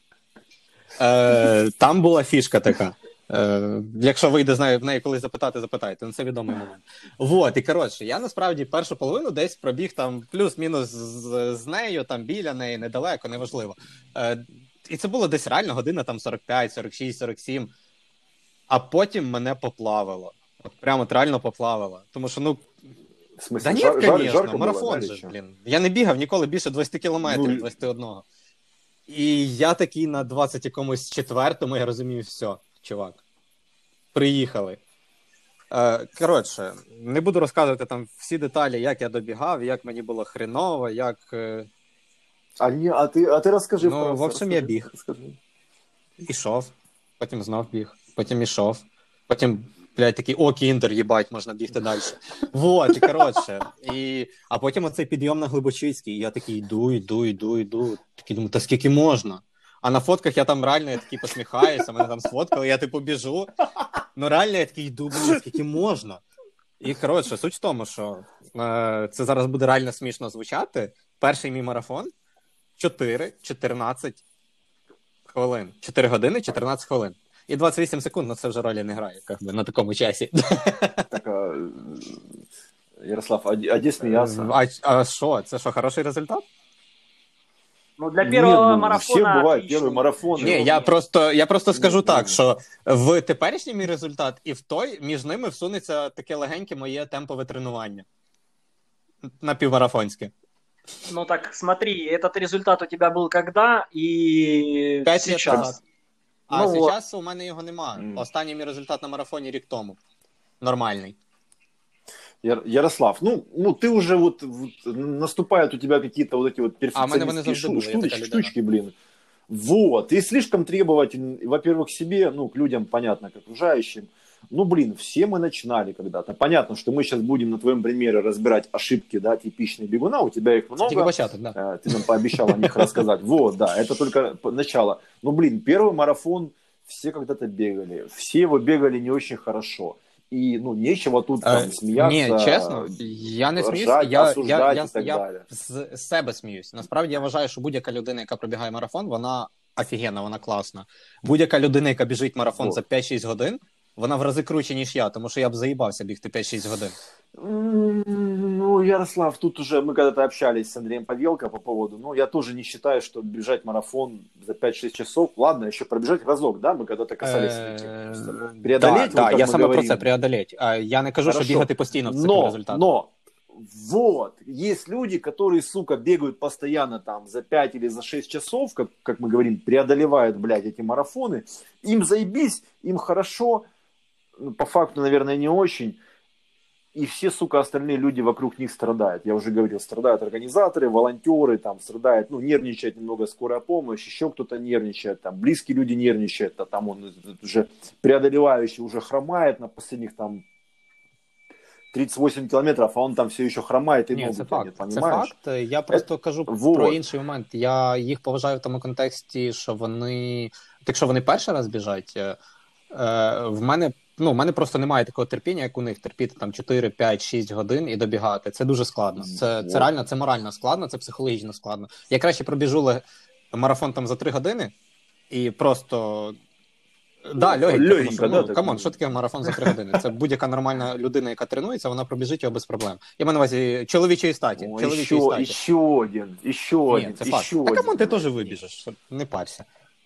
Е, там була фішка така. Е, якщо вийде з неї, в неї колись запитати, запитайте. Ну, це відомий момент. Вот, і коротше, я насправді першу половину десь пробіг там плюс-мінус з, з нею, там біля неї, недалеко, неважливо. Е, і це було десь реально година там сорок п'ять, сорок шість, сорок сім. А потім мене поплавило. От прямо от реально поплавило. Тому що, ну, В смысле, да ні, жар- жар- звісно, жарко было, марафон да, же, или чё? блін. Я не бігав ніколи більше двадцять кілометрів, Ну, двадцять один. І я такий на двадцять якомусь четвертому, я розумію, все, чувак. Приїхали. Е, коротше, не буду розказувати там всі деталі, як я добігав, як мені було хреново, як... Е... А, ні, а, ти, а ти розкажи. Ну, в общем, я біг. Розкажи. Ішов, потім знов біг, потім ішов, потім, блядь, такий, о, кіндер, їбать, можна бігти далі. Вот, і коротше. І... А потім оцей підйом на Глибочицький, і я такий йду, йду, йду, йду. Такий думаю, та скільки можна? А на фотках я там реально, я такий посміхаюся, мене там сфоткали, я типу біжу. Ну реально я такий йду, блядь, скільки можна? І, коротше, суть в тому, що е, це зараз буде реально смішно звучати. Перший мій марафон чотири чотирнадцять хвилин. чотири години, чотирнадцять хвилин. І двадцять вісім секунд, ну це вже ролі не грає, як би, на такому часі. Так, а, Ярослав, а, а де сміявся? А, а що, це що, хороший результат? Ну, для первого Ні, ну, марафона... всі бувають отлично. перший марафон. Ні, я просто, я просто скажу Ні, так, ні. що в теперішній мій результат і в той, між ними всунеться таке легеньке моє темпове тренування. Напівмарафонське. Ну так, смотри, этот результат у тебя был когда и П'ять лет сейчас? назад. А Ну, зараз у мене його нема. Мгм. Останній мій результат на марафоні рік тому. Нормальний. Яр- Ярослав, ну, ну ты уже вот, вот наступают у тебя какие-то вот эти вот А в мене вони перфекционистские завжди шу- були, я така штуч- людина. штучки, блин. Вот, ты слишком требователен, во-первых, к себе, ну, к людям, понятно, к окружающим. Ну, блин, все мы начинали когда-то. Понятно, что мы сейчас будем на твоем примере разбирать ошибки, да, типичные бегуна, у тебя их Це тільки много. початок, да. Э, Ты нам пообещал о них рассказать. Вот, да, это только п- начало. Ну, блин, первый марафон все когда-то бегали. Все его бегали не очень хорошо. И, ну, нечего тут там Е, смеяться. Ні, чесно, я не сміюсь, ржать, я, я, осуждать я, і так я далі. з з себе сміюсь. Насправді я вважаю, що будь-яка людина, яка пробігає марафон, вона офігенна, вона класна. Будь-яка людина, яка біжить марафон Вот. за п'ять-шість годин, вона в рази круче, ніж я, тому що я б заїбався бігти п'ять-шість годин. М, Ну, Ярослав, тут уже мы когда-то общались с Андреем Павелко по поводу, ну, я тоже не считаю, что бежать марафон за пять-шесть часов, ладно, еще пробежать разок, да, мы когда-то касались этой темы. Просто Е, преодолеть, да, вот да, как я мы саме про говорим. це преодолеть. А я не кажу, Хорошо. що бігати постійно в цикл Но, результату. но, вот, есть люди, которые, сука, бегают постоянно там за пять или за шесть часов, как, как мы говорим, преодолевают, блядь, эти марафоны, им заебись, им хорошо, ну, по факту, наверное, не очень, и все, сука, остальные люди вокруг них страдают. Я уже говорил, страдают организаторы, волонтеры, там страдают, ну, нервничает немного скорая помощь, еще кто-то нервничает, там, близкие люди нервничают, а там он уже преодолевающий уже хромает на последних там тридцать восемь километров, а он там все еще хромает и Ні, ногу це тянет, факт. Це понимаешь? факт. Я просто кажу вот. про інший момент. Я їх поважаю в тому контексті, що вони, якщо вони перший раз біжать, е, в мене, ну, в мене просто немає такого терпіння, як у них, терпіти там чотири, п'ять, шість годин і добігати. Це дуже складно. Це, це Вот. реально, це морально складно, це психологічно складно. Я краще пробіжу ле- марафон там за три години і просто... Да, легенько, легенько, тому що, да, ну, так. камон, що таке марафон за три години? Це будь-яка нормальна людина, яка тренується, вона пробіжить його без проблем. Я маю на увазі чоловічої статі. О, чоловічої еще, статі. еще один, еще Ні, один, це факт. еще А один. камон, ти теж вибіжиш, не парся.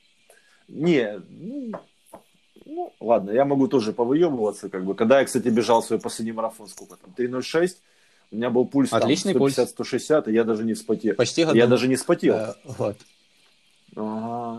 Не, ну, ну, ладно, я могу тоже повыебываться, как бы. Когда я, кстати, бежал свой последний марафон, сколько там, три ноль шесть, у меня был пульс там Отличный сто пятьдесят - сто шестьдесят, и я даже не вспотел. Почти году. Я даже не вспотел. Е, от. Ага.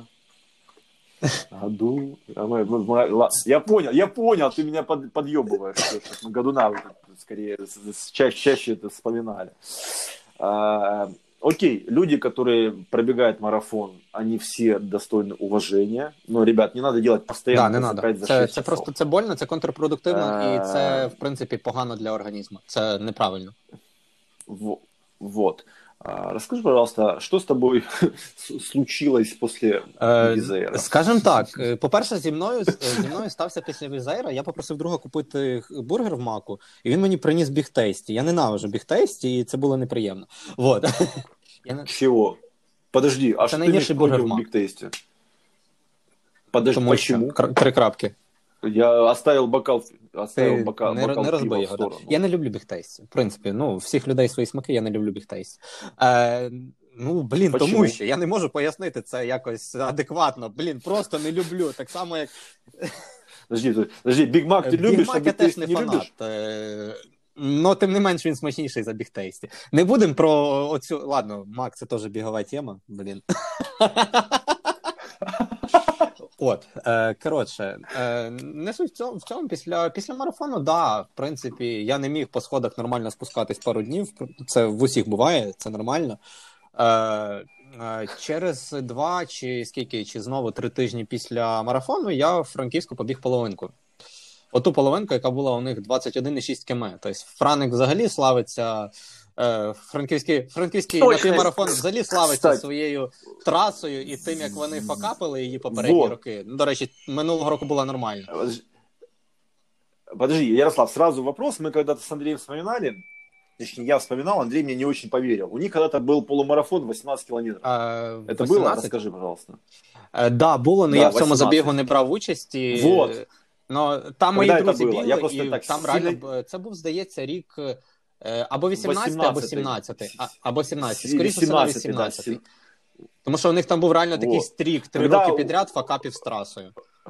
Году. А мы- мы- мы- ла- Я понял, я понял, ты меня под, подъебываешь, что, что мы годуна вот это скорее с- с- чаще, чаще это вспоминали. А, окей, люди, которые пробегают марафон, они все достойны уважения. Но, ребят, не надо делать постоянно Да, не за надо. пять, за Це, шесть це часов. просто це больно, це контрпродуктивно, Е. і це, в принципі, погано для організму. Це неправильно. Во- Вот. А, Расскажи, пожалуйста, что с тобой с- случилось после Е, Візейра? Скажем так, е, по-перше, зі мною, е, зі мною стався після Візейра, я попросив друга купити х- бургер в Маку, і він мені приніс бігтейсті. Я ненавижу бігтейсті, і це було неприємно. Вот. Я не... Чего? Подожди, а Это что ты наименьший имеешь бургер против в Мак. бигтейсте? Подожди, Тому що почему? кр- три крапки. Я оставил бокал, оставил Ти бокал, не, бокал не пива розбий в його. Да. сторону. Я не люблю бігтейсті. В принципі, ну, у всіх людей свої смаки, я не люблю бігтейсті. Е, ну, блін, Почему? тому що я не можу пояснити це якось адекватно. Блін, просто не люблю. Так само, як Подожди, ты- подожди, Биг Мак ты Біг любишь, Мак а я теж бигтейст не не фанат. любишь? Е, ну, тим не менш, він смачніший за бігтейсті. Не будемо про оцю... Ладно, Мак, це теж бігова тема, блін. От, е, коротше, е, не суть в цьому, в цьому після, після марафону, да, в принципі, я не міг по сходах нормально спускатись пару днів, це в усіх буває, це нормально. Е, Через два чи скільки, чи знову три тижні після марафону я в Франківську побіг половинку. Оту половинку, яка була у них двадцять один цілих шість кілометрів. Тобто Франик взагалі славиться, е, франківський, франківський напівмарафон взагалі славиться Кстати. своєю трасою і тим, як вони факапили її попередні вот. роки. Ну, до речі, минулого року була нормально. Подожди, Ярослав, сразу вопрос. Мы когда-то с Андреем вспоминали, точнее, я вспоминал, Андрей мне не очень поверил. У них когда-то был полумарафон восемнадцать километров. А, Это восемнадцать? Было? Расскажи, пожалуйста. Так, да, було, але да, я в цьому забігу не брав участі. Вот. Но там мої друзі бігли, я і так там сильно... реально, це був, здається, рік або вісімнадцятий, або сімнадцятий. А, або сімнадцятий, скоріше всього вісімнадцятий. Да, Тому що у них там був реально такий вот. стрік, три Когда... роки підряд факапів з трасою.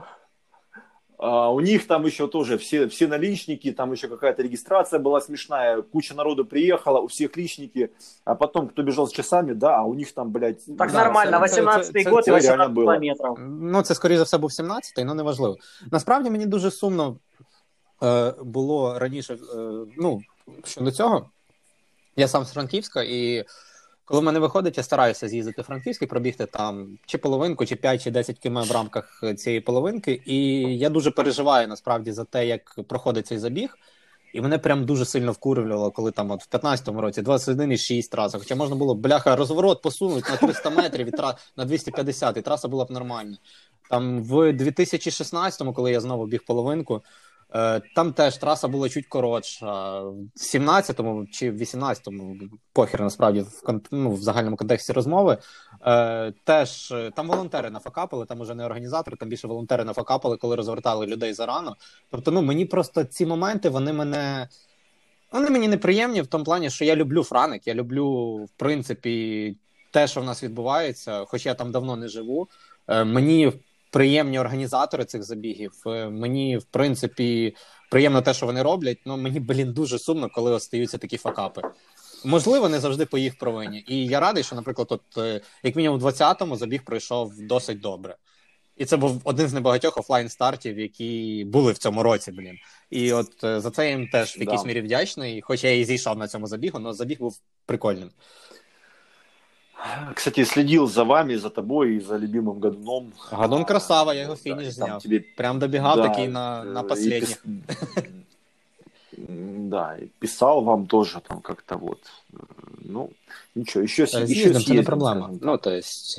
А, у них там еще тоже все, все наличники, там еще какая-то регистрация была смешная, куча народу приехала, у всех личники, а потом кто бежал с часами, да, а у них там, блядь... Так да, нормально, восемнадцятий год і вісімнадцять кілометрів. Ну, це, скоріше за все, був сімнадцятий, але неважливо. Насправді, мені дуже сумно е, було раніше, е, ну, щодо цього. Я сам з Франківська, і коли в мене виходить, я стараюся з'їздити в Франківськ і пробігти там чи половинку, чи п'ять, чи десять кілометрів в рамках цієї половинки. І я дуже переживаю, насправді, за те, як проходить цей забіг. І мене прям дуже сильно вкурювало, коли там от в п'ятнадцятому році двадцять один цілих шість траси. Хоча можна було, бляха, розворот посунути на триста метрів, і тра... на двісті п'ятдесят, і траса була б нормальна. Там в дві тисячі шістнадцятому, коли я знову біг половинку, там теж траса була чуть коротша. В сімнадцятому чи в вісімнадцятому, похер насправді, в, ну, в загальному контексті розмови, е, теж там волонтери нафакапили, там уже не організатори, там більше волонтери нафакапили, коли розвертали людей зарано. Тобто, ну, мені просто ці моменти, вони мене... Вони мені неприємні в тому плані, що я люблю Франик, я люблю, в принципі, те, що в нас відбувається, хоч я там давно не живу. Е, мені приємні організатори цих забігів. Мені, в принципі, приємно те, що вони роблять, але мені, блін, дуже сумно, коли остаються такі факапи. Можливо, не завжди по їх провині. І я радий, що, наприклад, от, як мінімум в двадцятому забіг пройшов досить добре. І це був один з небагатьох офлайн-стартів, які були в цьому році, блін. І от за це я їм теж в якійсь да. мірі вдячний, хоч я і зійшов на цьому забігу, але забіг був прикольним. Кстати, следил за вами, за тобой и за любимым Гадуном. Гадун красава, я его финиш да, зняв. Тебе... Прям добегал да, такие на, на последних. Пис... Да, и писал вам тоже там как-то вот. Ну, ничего, еще, еще съездим. Это не проблема. Ну, то есть...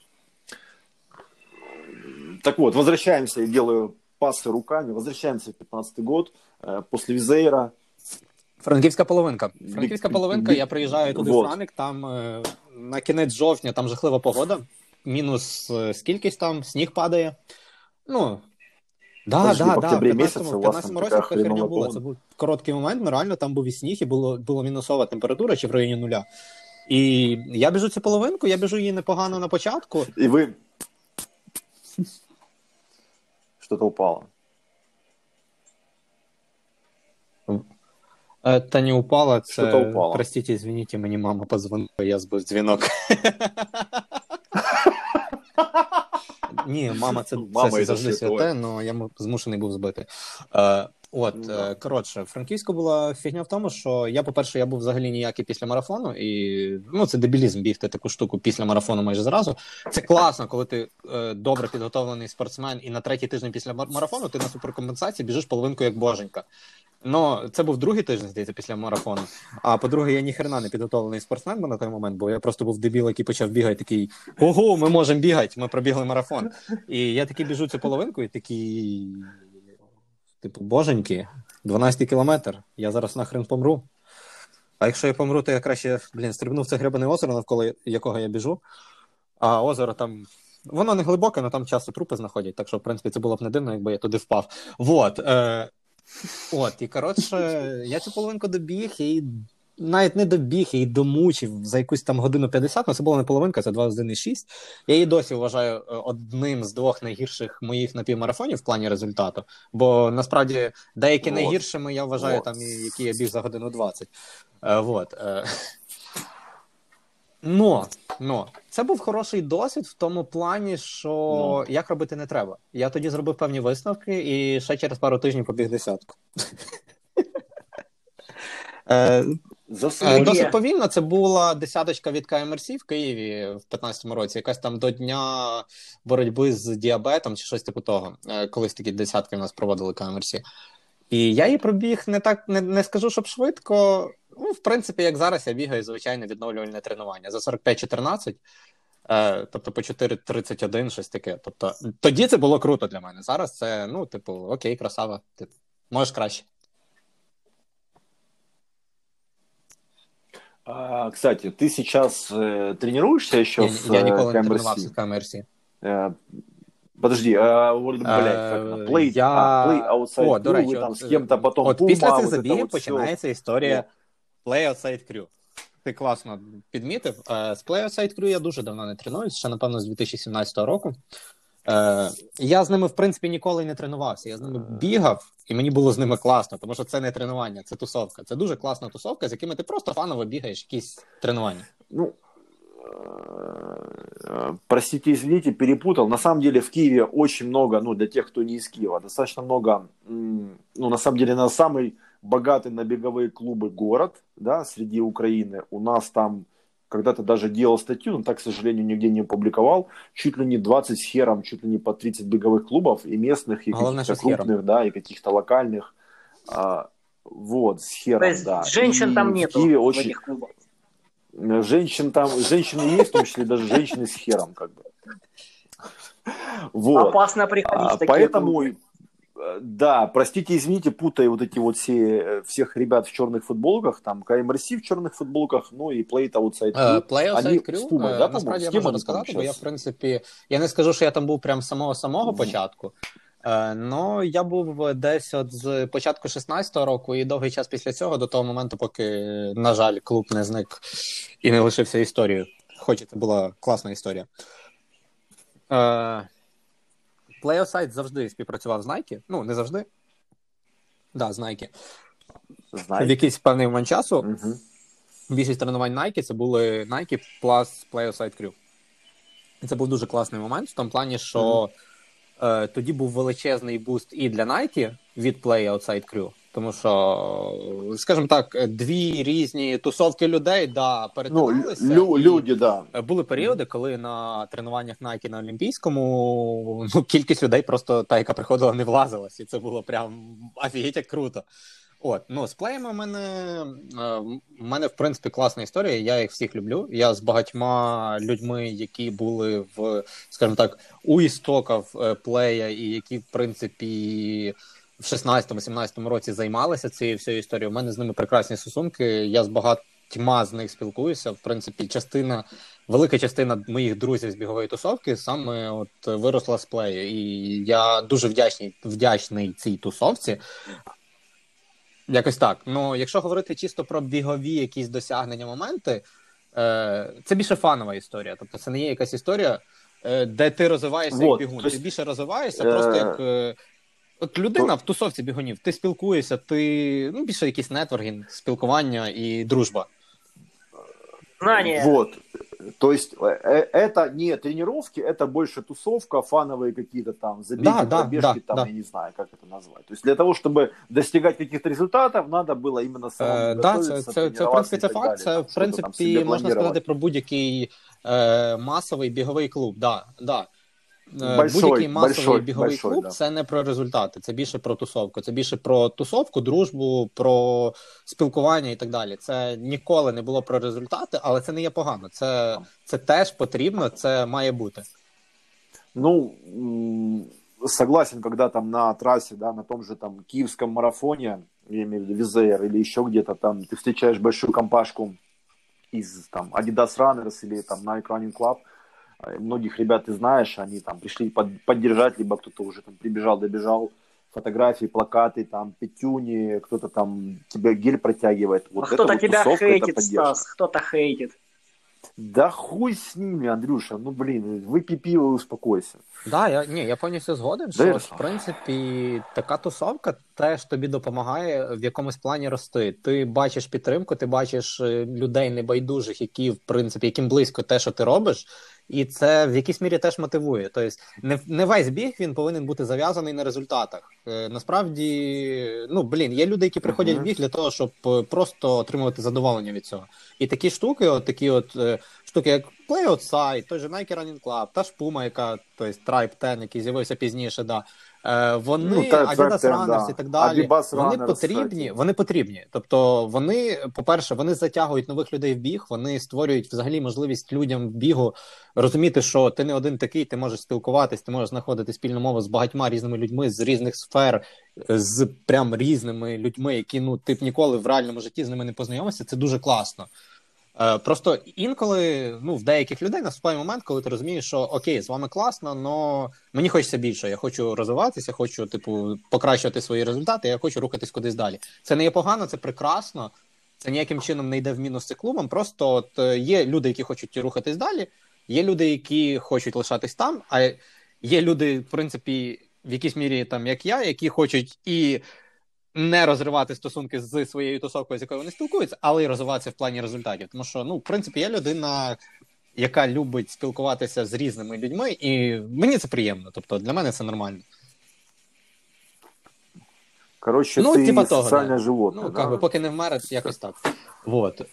Так вот, возвращаемся, я делаю пасы руками, возвращаемся в пятнадцатый год, после Візейра. Франківська половинка. Франківська половинка, я приїжджаю туди вот. в Франик, там е, на кінець жовтня, там жахлива погода, мінус е, скількись там, сніг падає. Ну, да, Подожди, да, в да, в п'ятнадцятому році така херня була, це був короткий момент, ну реально там був і сніг, і було, було мінусова температура, чи в районі нуля. І я біжу цю половинку, я біжу її непогано на початку. І ви... Що-то упало. Та не упало, це, упало. Простите, извините, мені мама позвонила, я збив дзвінок. Ні, мама, це, мама це завжди святе, але я змушений був збити. Е, от, ну, е, коротше, Франківську була фігня в тому, що я, по-перше, я був взагалі ніякий після марафону, і, ну, це дебілізм бігти таку штуку після марафону майже зразу. Це класно, коли ти е, добре підготовлений спортсмен, і на третій тиждень після марафону ти на суперкомпенсації біжиш половинку як боженька. Ну, це був другий тиждень, здається, після марафону. А по-друге, я ніхрена не підготовлений спортсмен на той момент, бо я просто був дебіл, який почав бігати, такий, ого, ми можемо бігати, ми пробігли марафон. І я такий біжу цю половинку і такий, типу, боженьки, дванадцятий кілометр, я зараз нахрен помру. А якщо я помру, то я краще, блін, стрибну в це гребане озеро, навколо якого я біжу. А озеро там, воно не глибоке, але там часто трупи знаходять, так що, в принципі, це було б не дивно, якби я туди впав. Вот, е- От, і, коротше, я цю половинку добіг, і навіть не добіг, я її домучив за якусь там годину п'ятдесят, але це була не половинка, це двадцять один цілих шість. Я її досі вважаю одним з двох найгірших моїх напівмарафонів в плані результату, бо, насправді, деякі вот. найгіршими я вважаю, вот. там, які я біг за годину двадцять. Е, вот. Е. Но, но, це був хороший досвід в тому плані, що no. як робити не треба. Я тоді зробив певні висновки і ще через пару тижнів побіг десятку. е, Заслужив. Досить повільно. Це була десяточка від ка ем ер сі в Києві в п'ятнадцятому році, якась там до дня боротьби з діабетом чи щось типу того. Колись такі десятки в нас проводили ка ем ер сі. І я її пробіг не так, не, не скажу, щоб швидко. Ну, в принципі, як зараз я бігаю звичайне відновлювальне тренування за сорок п'ять чотирнадцять, е, тобто по чотири тридцять один, щось таке. Тобто тоді це було круто для мене. Зараз це, ну, типу, окей, красава, типу, можеш краще. А, кстати, ты сейчас э, тренируешься еще Я, с я ніколи э, не ка ем ер тренувався сі? з ка ем ер сі. Э, подожди, а, вот, блядь, как оно? Play, Я... а, play outside О, до crew, речі, вы там от, с кем-то потом от Puma, після цих вот это забігів вот починається всё. історія Play Outside Crew. Ти класно підмітив. Е, З Play Outside Crew я дуже давно не тренуюсь, ще, напевно, з дві тисячі сімнадцятого року. Е, Я з ними, в принципі, ніколи не тренувався. Я з ними бігав, і мені було з ними класно, тому що це не тренування, це тусовка. Це дуже класна тусовка, з якими ти просто фаново бігаєш якісь тренування. Ну, э, простите, извините, перепутал. На самом деле в Киеве очень много, ну, для тех, кто не из Киева, достаточно много, м, ну, на самом деле, на самый богатый на беговые клубы город, да, среди Украины. У нас там когда-то даже делал статью, но так, к сожалению, нигде не опубликовал. Чуть ли не двадцать с хером, чуть ли не по тридцать беговых клубов, и местных, и Главное, каких-то что с хером. крупных, да, и каких-то локальных. А, вот, с То хером, есть да. женщин И там в нету Киеве в очень... этих клубах. Женщин там, женщины есть, в том числе даже женщины с хером, как бы. Вот. Опасно приходить А, в такие поэтому, клубы. э, да, простите, извините, путаю вот эти вот все, э, всех ребят в черных футболках, там, ка ем ер сі в черных футболках, ну и Play Outside Crew. Е, Play Они Outside с Crew, Puma, е, да, насправді по-моему? я С кем можу они там розказати, бо я, в сейчас? принципі, я не скажу, що я там був прям з самого-самого початку, е, но я був десь от з початку шістнадцятого року і довгий час після цього, до того моменту, поки, на жаль, клуб не зник і не лишився історією. Хоч це була класна історія. Е, Play Outside завжди співпрацював з Nike, ну, не завжди, да, з Nike. В Знаете? якийсь певний момент часу Мгм. більшість тренувань Nike це були Nike plus Play Outside Crew. І це був дуже класний момент в тому плані, що е, тоді був величезний буст і для Nike від Play Outside Crew. Тому що, скажімо так, дві різні тусовки людей, да, Ну, перетиналися. лю- і люди, да. були періоди, коли на тренуваннях Nike на Олімпійському, ну, кількість людей просто та, яка приходила, не влазилась. І це було прям офігеть як круто. От, ну, з плеями в мене, е, в мене, в принципі, класна історія, я їх всіх люблю. Я з багатьма людьми, які були в, скажімо так, у істоків е, плея і які, в принципі, в шістнадцятому-сімнадцятому році займалися цією всією історією, у мене з ними прекрасні стосунки, я з багатьма з них спілкуюся. В принципі, частина, велика частина моїх друзів з бігової тусовки саме от виросла з плею. І я дуже вдячний, вдячний цій тусовці. Якось так. Ну, якщо говорити чисто про бігові якісь досягнення, моменти, е, це більше фанова історія. Тобто це не є якась історія, е, де ти розвиваєшся Вот, як бігун. то есть, Ти більше розвиваєшся, е, просто як е, от людина то- в тусовці бігунів. Ти спілкуєшся, ти ну, більше якийсь нетворкінг, спілкування і дружба. Знания. Вот. То есть э, э, это не тренировки, это больше тусовка, фановые какие-то там забеги, Да, да, пробежки, да, там, да. я не знаю, как это назвать. То есть для того, чтобы достигать каких-то результатов, надо было именно самому Е, да, готовиться, це, це, це, в тренироваться принципі, и це так факт. далее, Це, там, в что-то там принципі, себе можна сказати планировать. про будь-який е, масовий біговий клуб. Да, да. Е, Большой, Будь-який масовий большой, біговий большой, клуб да. це не про результати, це більше про тусовку. Це більше про тусовку, дружбу, про спілкування і так далі. Це ніколи не було про результати, але це не є погано. Це, це теж потрібно, це має бути. Ну, м, согласен, когда там на трассе, да, на том же там киевском марафоне, я имею в виду Визеер или еще где-то там, ты встречаешь большую компашку из там Adidas Runners или там Nike Running Club. Э, Многих ребят ты знаешь, они там пришли под- поддержать, либо кто-то уже там прибежал, добежал, фотографии, плакаты, там пятюни, кто-то там тебе гель протягивает. А Вот это кто-то вот тебя тусовка, это хейтит, поддержка. Стас, кто-то хейтит. Да хуй с ними, Андрюша, ну блин, выпей пиво и успокойся. Да, я, ні, я повністю згоден, Да, що, Ярослав. в принципі, така тусовка, теж тобі допомагає в якомусь плані рости. Ти бачиш підтримку, ти бачиш людей небайдужих, які, в принципі, яким близько те, що ти робиш, і це в якійсь мірі теж мотивує. Тобто не, не весь біг він повинен бути зав'язаний на результатах. Е, насправді, ну, блін, є люди, які приходять в біг для того, щоб просто отримувати задоволення від цього. І такі штуки, от такі от е, штуки, як Play Outside, той же Nike Running Club, та ж Puma, яка, тобто Tribe десять, який з'явився пізніше, да. Е, вони, ну, Adidas Runners да. і так далі, Adidas вони Runners, потрібні, вони потрібні. Тобто вони, по-перше, вони затягують нових людей в біг, вони створюють взагалі можливість людям в бігу розуміти, що ти не один такий, ти можеш спілкуватись, ти можеш знаходити спільну мову з багатьма різними людьми, з різних сфер, з прям різними людьми, які, ну, ти б ніколи в реальному житті з ними не познайомився, це дуже класно. Просто інколи, ну, в деяких людей наступає момент, коли ти розумієш, що окей, з вами класно, але мені хочеться більше, я хочу розвиватися, хочу, типу, покращувати свої результати, я хочу рухатись кудись далі. Це не є погано, це прекрасно, це ніяким чином не йде в мінус цим клубам, просто от є люди, які хочуть рухатись далі, є люди, які хочуть лишатись там, а є люди, в принципі, в якійсь мірі, там, як я, які хочуть і не розривати стосунки з своєю тусовкою, з якою вони спілкуються, але й розвиватися в плані результатів. Тому що, ну, в принципі, я людина, яка любить спілкуватися з різними людьми, і мені це приємно. Тобто, для мене це нормально. Коротше, ну, ти типа соціальне да. животне. Ну, да? как бы, поки не вмерить, якось так. Вот.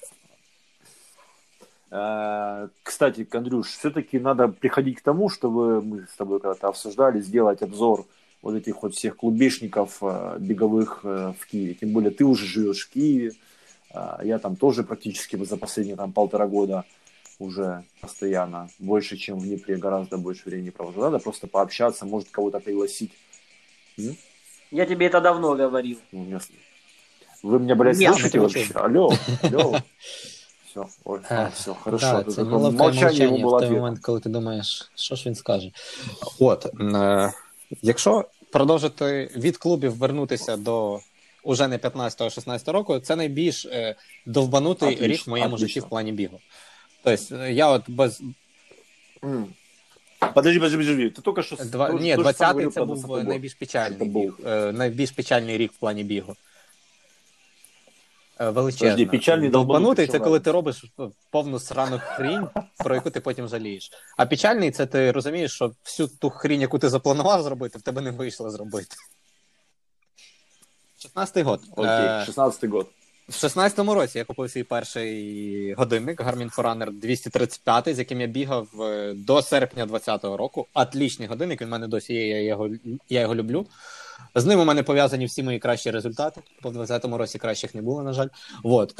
Кстати, Андрюш, все-таки надо приходить к тому, чтобы мы с тобой когда-то обсуждали, сделать обзор вот этих вот всех клубешников беговых в Киеве. Тем более ты уже живешь в Киеве, я там тоже практически за последние там полтора года уже постоянно, больше, чем в Днепре, гораздо больше времени провожу. Надо просто пообщаться, может кого-то пригласить. М? Я тебе это давно говорил. Вы меня, блядь, Нет, слушаете вообще? Алло, алло. Все, ой, а, все, хорошо. Да, це молчання йому було в той момент, коли ти думаєш, що ж він скаже. От, е- якщо продовжити від клубів вернутися до уже не п'ятнадцятого-шістнадцятого року, це найбільш е, довбанутий отлично, рік в моєму отлично. житті в плані бігу. Тобто, я от без... Mm. Подожди, подожди, подожди. Ти тільки що... Два... Ні, двадцятий це був найбільш печальний біг. Е, найбільш печальний рік в плані бігу. Величезно. Подожди, печальний довбанутий – це коли ти робиш повну срану хрінь, про яку ти потім жалієш. А печальний – це ти розумієш, що всю ту хрінь, яку ти запланував зробити, в тебе не вийшло зробити. шістнадцятий год. Окей, шістнадцятий год. В шістнадцятому році я купив свій перший годинник Garmin Forerunner двісті тридцять п'ять, з яким я бігав до серпня двадцятого року. Отлічний годинник, він в мене досі є, я його, я його люблю. З ним у мене пов'язані всі мої кращі результати. По двадцятому році кращих не було, на жаль. Вот.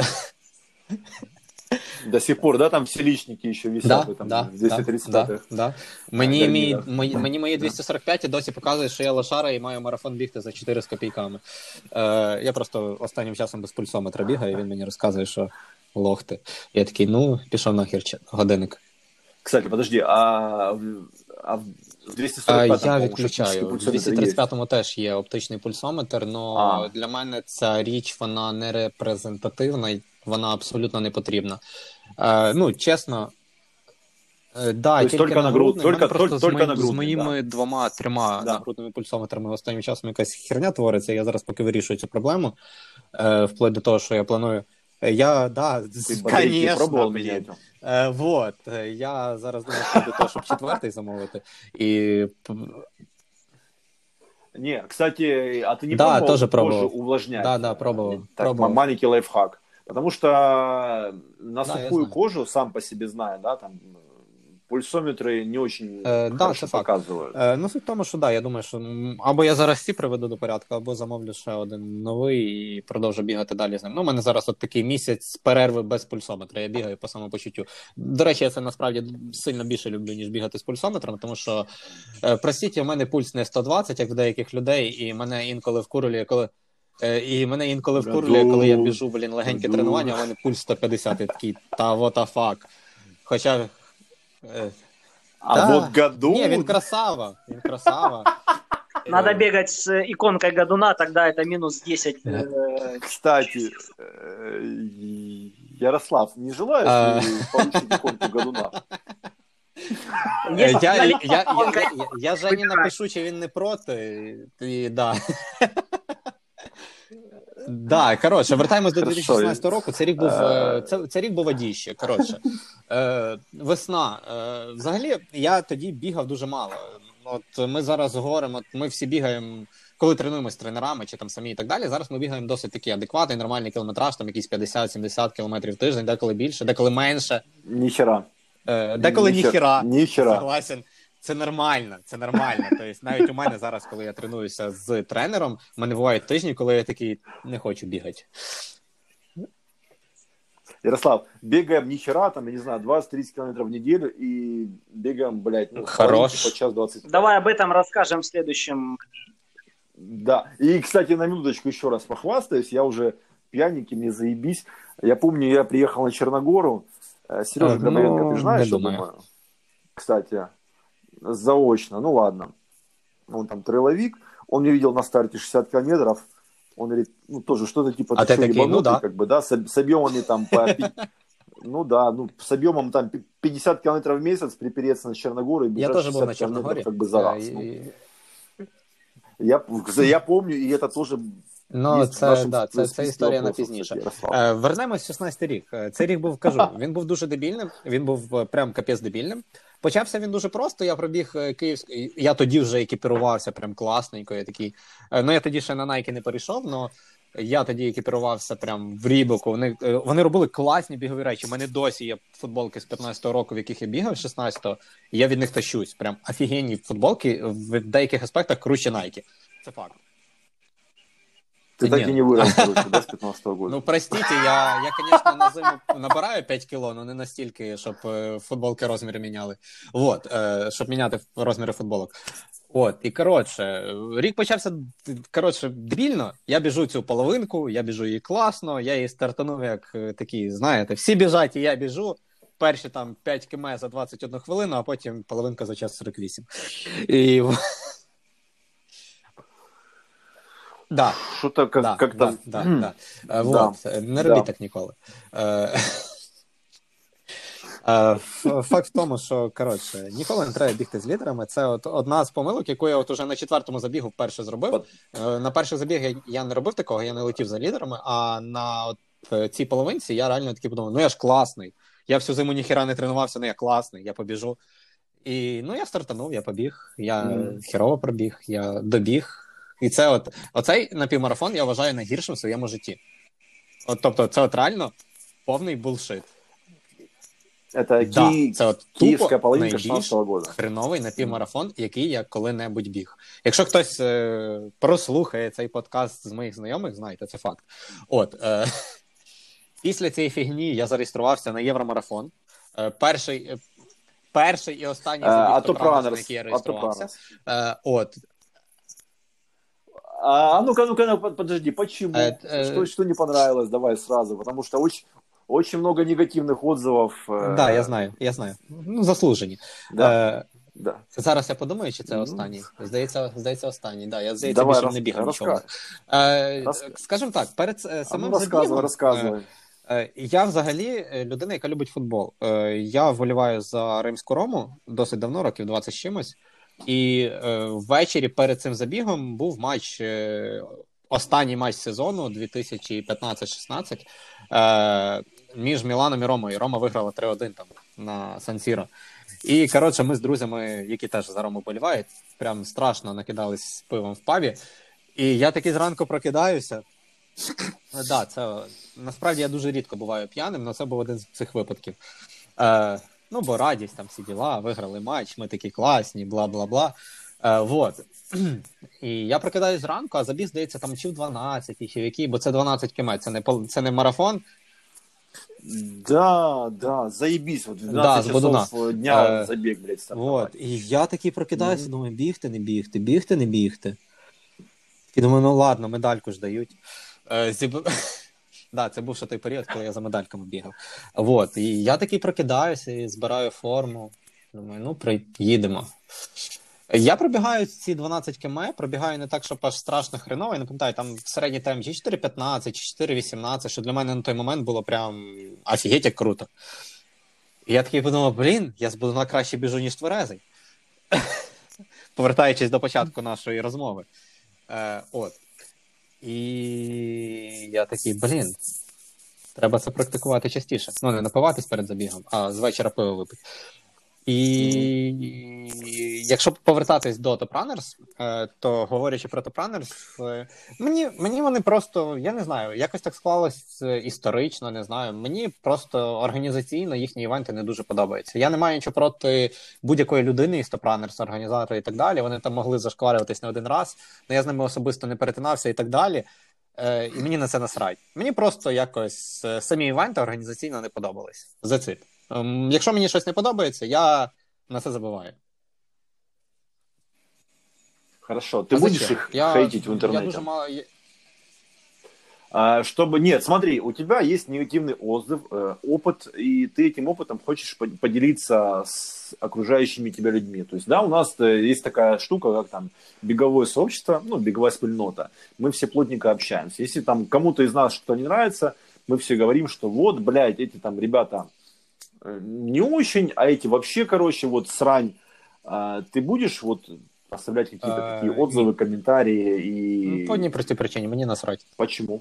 До сих пор, да, там всі лічники ще висять, да, там, да, двісті тридцять п'ять. Да, да. Мені, да, мій, мої, мені мої двісті сорок п'ять досі показує, що я лошара і маю марафон бігти за чотири з копійками. Е, я просто останнім часом без пульсометра бігаю, і він мені розказує, що лох ти. Я такий, ну, пішов нахер годинник. Кстати, подожди, а, а в двісті сорок п'ятому я відключаю. В двісті тридцять п'ятому теж є оптичний пульсометр, але для мене ця річ, вона не репрезентативна, вона абсолютно не потрібна. Е, ну, чесно, е, да, тільки, тільки нагрудний. Тільки, тільки, просто тільки з, мої, з моїми да. двома-трьома да. нагрудними пульсометрами останнім часом якась херня твориться, я зараз поки вирішую цю проблему, е, вплоть до того, що я планую. Я, да, звісно, пробував міняти. Е, вот, я зараз думаю до того, щоб четвертий замовити. І... Не, кстати, а ты не да, пробовал тоже кожу увлажнять? Да, да, пробовал. Так, пробовал. Маленький лайфхак. Потому что на да, сухую кожу, сам по себе знаю, да, там пульсометри не очень е, хорошо да, показують. Е, ну, суть в тому, що да, я думаю, що або я зараз ці приведу до порядку, або замовлю ще один новий і продовжу бігати далі з ним. Ну, у мене зараз от такий місяць перерви без пульсометра, я бігаю по самопочуттю. До речі, я це насправді сильно більше люблю, ніж бігати з пульсометром, тому що, е, простіть, у мене пульс не сто двадцять, як в деяких людей, і мене інколи вкурює, коли... І мене інколи вкурлює, коли я біжу, блін, легеньке тренування, а в мене пульс сто п'ятдесят, і такий, та what the fuck. Хоча... А да. вот году... Не, він красава, він красава. Надо бегать с иконкой Годуна, тогда это минус десять. Кстати, Ярослав, не желаешь ли получить иконку Годуна? Я, я, я, я, я Жені напишу, чи він не проти, і да. Да, коротше, вертаємось до Хорошо. дві тисячі шістнадцятого року. Це рік був, е, це, це рік був водіще. Коротше, е, весна. Е, взагалі, я тоді бігав дуже мало. От ми зараз говоримо, от ми всі бігаємо, коли тренуємося з тренерами чи там самі і так далі. Зараз ми бігаємо досить такий адекватний, нормальний кілометраж, там якісь п'ятдесят-сімдесят кілометрів в тиждень, деколи більше, деколи менше. Ніхера. Е, деколи ніхера. Ніхера. Согласен. Це нормально, це нормально. Тобто навіть у мене зараз, коли я тренуюся з тренером, в мене бувають тижні, коли я такий не хочу бігати. Ярослав, бегаем нихера, там, я не знаю, двадцать-тридцать километров в неделю и бегаем, блядь, ну, Хорош. по час двадцать. Давай об этом расскажем в следующем. Да, и, кстати, на минуточку еще раз похвастаюсь, я уже пьяненький, мне заебись. Я помню, я приехал на Черногору, Сережа А, Грабовенко, ну, ты знаешь, не что думаю. думаю? Кстати, заочно, ну ладно. Он там трейловик, он мне видел на старте шестьдесят километров, он говорит, ну тоже что-то типа, А ты ты что, такие, ну ебанутый, да. как бы, да, с, с объемами там по... Ну да, ну с объемом там пятьдесят километров в месяц припереться на Черногору и бежать Я тоже был на шестьдесят километров Черногории. как бы за раз. Е, Ну, і- я, я помню, и это тоже Ну, є в це, нашому да, це, списку це історія на вопросів, пізніше. кстати, Ярослав. Е, вернемось в шістнадцятий рік. Е, Цей рік був, кажу, він був дуже дебільним, він був е, прям капець дебільним. Почався він дуже просто, я пробіг е, київський, я тоді вже екіпірувався прям класненько, я такий, е, ну я тоді ще на Nike не перейшов, но я тоді екіпірувався прям в Рібоку, вони, е, вони робили класні бігові речі, у мене досі є футболки з п'ятнадцятого року, в яких я бігав, з шістнадцятого, і я від них тащусь, прям офігенні футболки, в деяких аспектах круче Nike, це факт. Ты так Нет. и не вырос, короче, да, с пятнадцатого года. Ну, простите, я, я, конечно, на зиму набираю п'ять кіло, але не настільки, щоб е, футболки розміри міняли. Вот, е, щоб міняти розміри футболок. От, і коротше, рік почався, коротше, дебільно. Я біжу цю половинку, я біжу її класно, я її стартанув як е, такий, знаєте, всі біжать, і я біжу. Перші там п'ять кілометрів за двадцять одну хвилину, а потім половинка за час сорок вісім. І... Да. Что-то как, Да, как да, там... да, М, да. Е, Да, Вот, не робіть да. так ніколи. Е, е, ф- Факт в тому, що, коротше, ніколи не треба бігти з лідерами. Це от одна з помилок, яку я от уже на четвертому забігу вперше зробив. Е, На перший забіг я, я не робив такого, я не летів за лідерами, а на от, е, цій половинці я реально такий подумав, ну я ж класний. Я всю зиму ніхіра не тренувався, ну я класний, я побіжу. І, ну, я стартанув, я побіг, я Мгм. херово пробіг, я добіг. І це от, оцей напівмарафон я вважаю найгіршим в своєму житті. От, тобто, це от реально повний булшит. Это Да, Ки- це от Киевская тупо половинка найбільш шестнадцатого года. хреновий напівмарафон, який я коли-небудь біг. Якщо хтось е, прослухає цей подкаст з моїх знайомих, знаєте, це факт. От, е, після цієї фігні я зареєструвався на Євромарафон. Е, перший, е, перший і останній Э, забіг А Топ то Ранерс, на Пранерс, який я а то реєструвався. Пранерс. Е, от, А ну-ка, ну-ка, ну, под- подожди, почему? Э, э, Что, что не понравилось? Давай сразу, потому что очень, очень много негативных отзывов. э, да, я знаю, я знаю. Ну, заслужені. Да, Е, да. Зараз я подумаю, чи це Ну, останній. Здається, здається, останній. Да, я, здається, Давай, більше роз- не бігав нічого. розказ- Е, Роз- Скажімо так, перед е, А ну, самим рассказывай, забігом, рассказывай. е, я взагалі е, людина, яка любить футбол. Е, Я вболіваю за Римську Рому досить давно, років двадцять з чимось. І е, ввечері перед цим забігом був матч, е, останній матч сезону дві тисячі п'ятнадцять шістнадцять е, між Міланом і Ромою. Рома виграла три один там на Сан-Сіро. І, коротше, ми з друзями, які теж за Рому болівають, прям страшно накидались з пивом в пабі. І я таки зранку прокидаюся. Да, це насправді я дуже рідко буваю п'яним, але це був один з цих випадків. Е, ну, бо радість, там всі діла, виграли матч, ми такі класні, бла-бла-бла. Е, вот. І я прокидаюсь зранку, а забіг, здається, там чи в дванадцять, чи в якій, бо це дванадцять кілометрів, це не, пол- це не марафон. Да, да, заебись. Вот в Да, двенадцать с часов Бодуна. дня Э, забег, блядь, стартовать. Вот. І я такий прокидаюся, Мгм. думаю, бігти, не бігти, бігти, не бігти. І думаю, ну ладно, медальку ж дають. Е, зіб... Да, це був ще той період, коли я за медальками бігав. Вот. І я такий прокидаюся і збираю форму. Думаю, ну, приїдемо. Я пробігаю ці дванадцять кілометрів, пробігаю не так, щоб аж страшно хреново. Я не пам'ятаю, там середній тайм чи чотири п'ятнадцять, чи чотири вісімнадцять, що для мене на той момент було прям офігеть як круто. І я такий подумав, блін, я з Бодуна краще біжу, ніж тверезий. Повертаючись до початку нашої розмови. Е, от. І я такий, блін, треба це практикувати частіше. Ну, не напиватись перед забігом, а з вечора пиво випити. І mm-hmm. якщо повертатись до Top Runners, то говорячи про Top Runners, мені, мені вони просто, я не знаю, якось так склалось історично, не знаю, мені просто організаційно їхні івенти не дуже подобаються. Я не маю нічого проти будь-якої людини із Top Runners, організатора і так далі, вони там могли зашкварюватись не один раз, але я з ними особисто не перетинався і так далі. І мені на це насрать. Мені просто якось самі івенти організаційно не подобались. That's it. Якщо мені щось не подобається, я на це забуваю. Хорошо. Ты а будешь зачем? их я, хейтить в интернете? Я дуже мало... А, чтобы... Нет, смотри, у тебя есть негативный отзыв, э, опыт, и ты этим опытом хочешь поделиться с окружающими тебя людьми. То есть, да, у нас есть такая штука, как там беговое сообщество, ну, беговая спільнота. Мы все плотненько общаемся. Если там кому-то из нас что-то не нравится, мы все говорим, что вот, блядь, эти там ребята не очень, а эти вообще, короче, вот срань. А, ты будешь вот оставлять какие-то а, такие отзывы, и... комментарии и... По одній простій причині, мені насрать. Почему?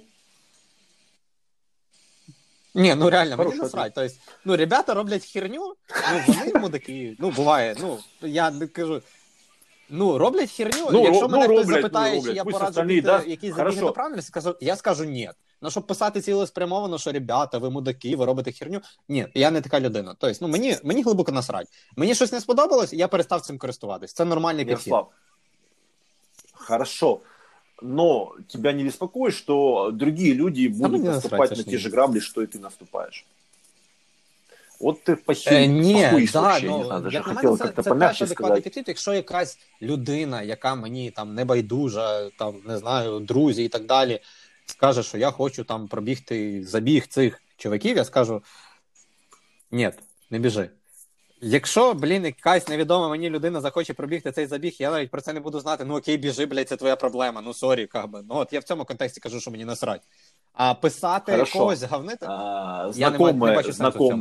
Ні, ну реально, Хорошо, мені насрать. Тобто, ну, ребята роблять херню, ну, вони мудаки, ну, буває, ну, я не кажу, ну, роблять херню, ну, якщо ну, мене роблять, хтось запитає, ну, чи я пусть пораджу остальні, да? якісь забіги до правильності, я скажу ні. Ну, щоб писати цілеспрямовано, що ребята, ви мудаки, ви робите херню. Ні, я не така людина. Тобто, ну, мені, мені глибоко насрать. Мені щось не сподобалось, я перестав цим користуватись. Це нормальний підхід. Хорошо. Но тебя не беспокоит, что другие люди будут а наступать насрать, на те же грабли, что и ты наступаешь? Вот ти похилий, е, ні, похуй, да, ну, ну, не знаю, даже як на хотел мене, как-то це, помягче це теж адекватний сказать. підхід, якщо якась людина, яка мені там не байдужа, там, не знаю, друзі і так далі, скаже, що я хочу там пробігти забіг цих чуваків, я скажу, ні, не біжи. Якщо, блін, якась невідома мені людина захоче пробігти цей забіг, я навіть про це не буду знати, ну окей, біжи, блядь, це твоя проблема, ну сорі, как би. Ну от я в цьому контексті кажу, що мені насрать. А писати Хорошо. Когось говнити, а, я знакомые, не, не бачу сенсу в цьому.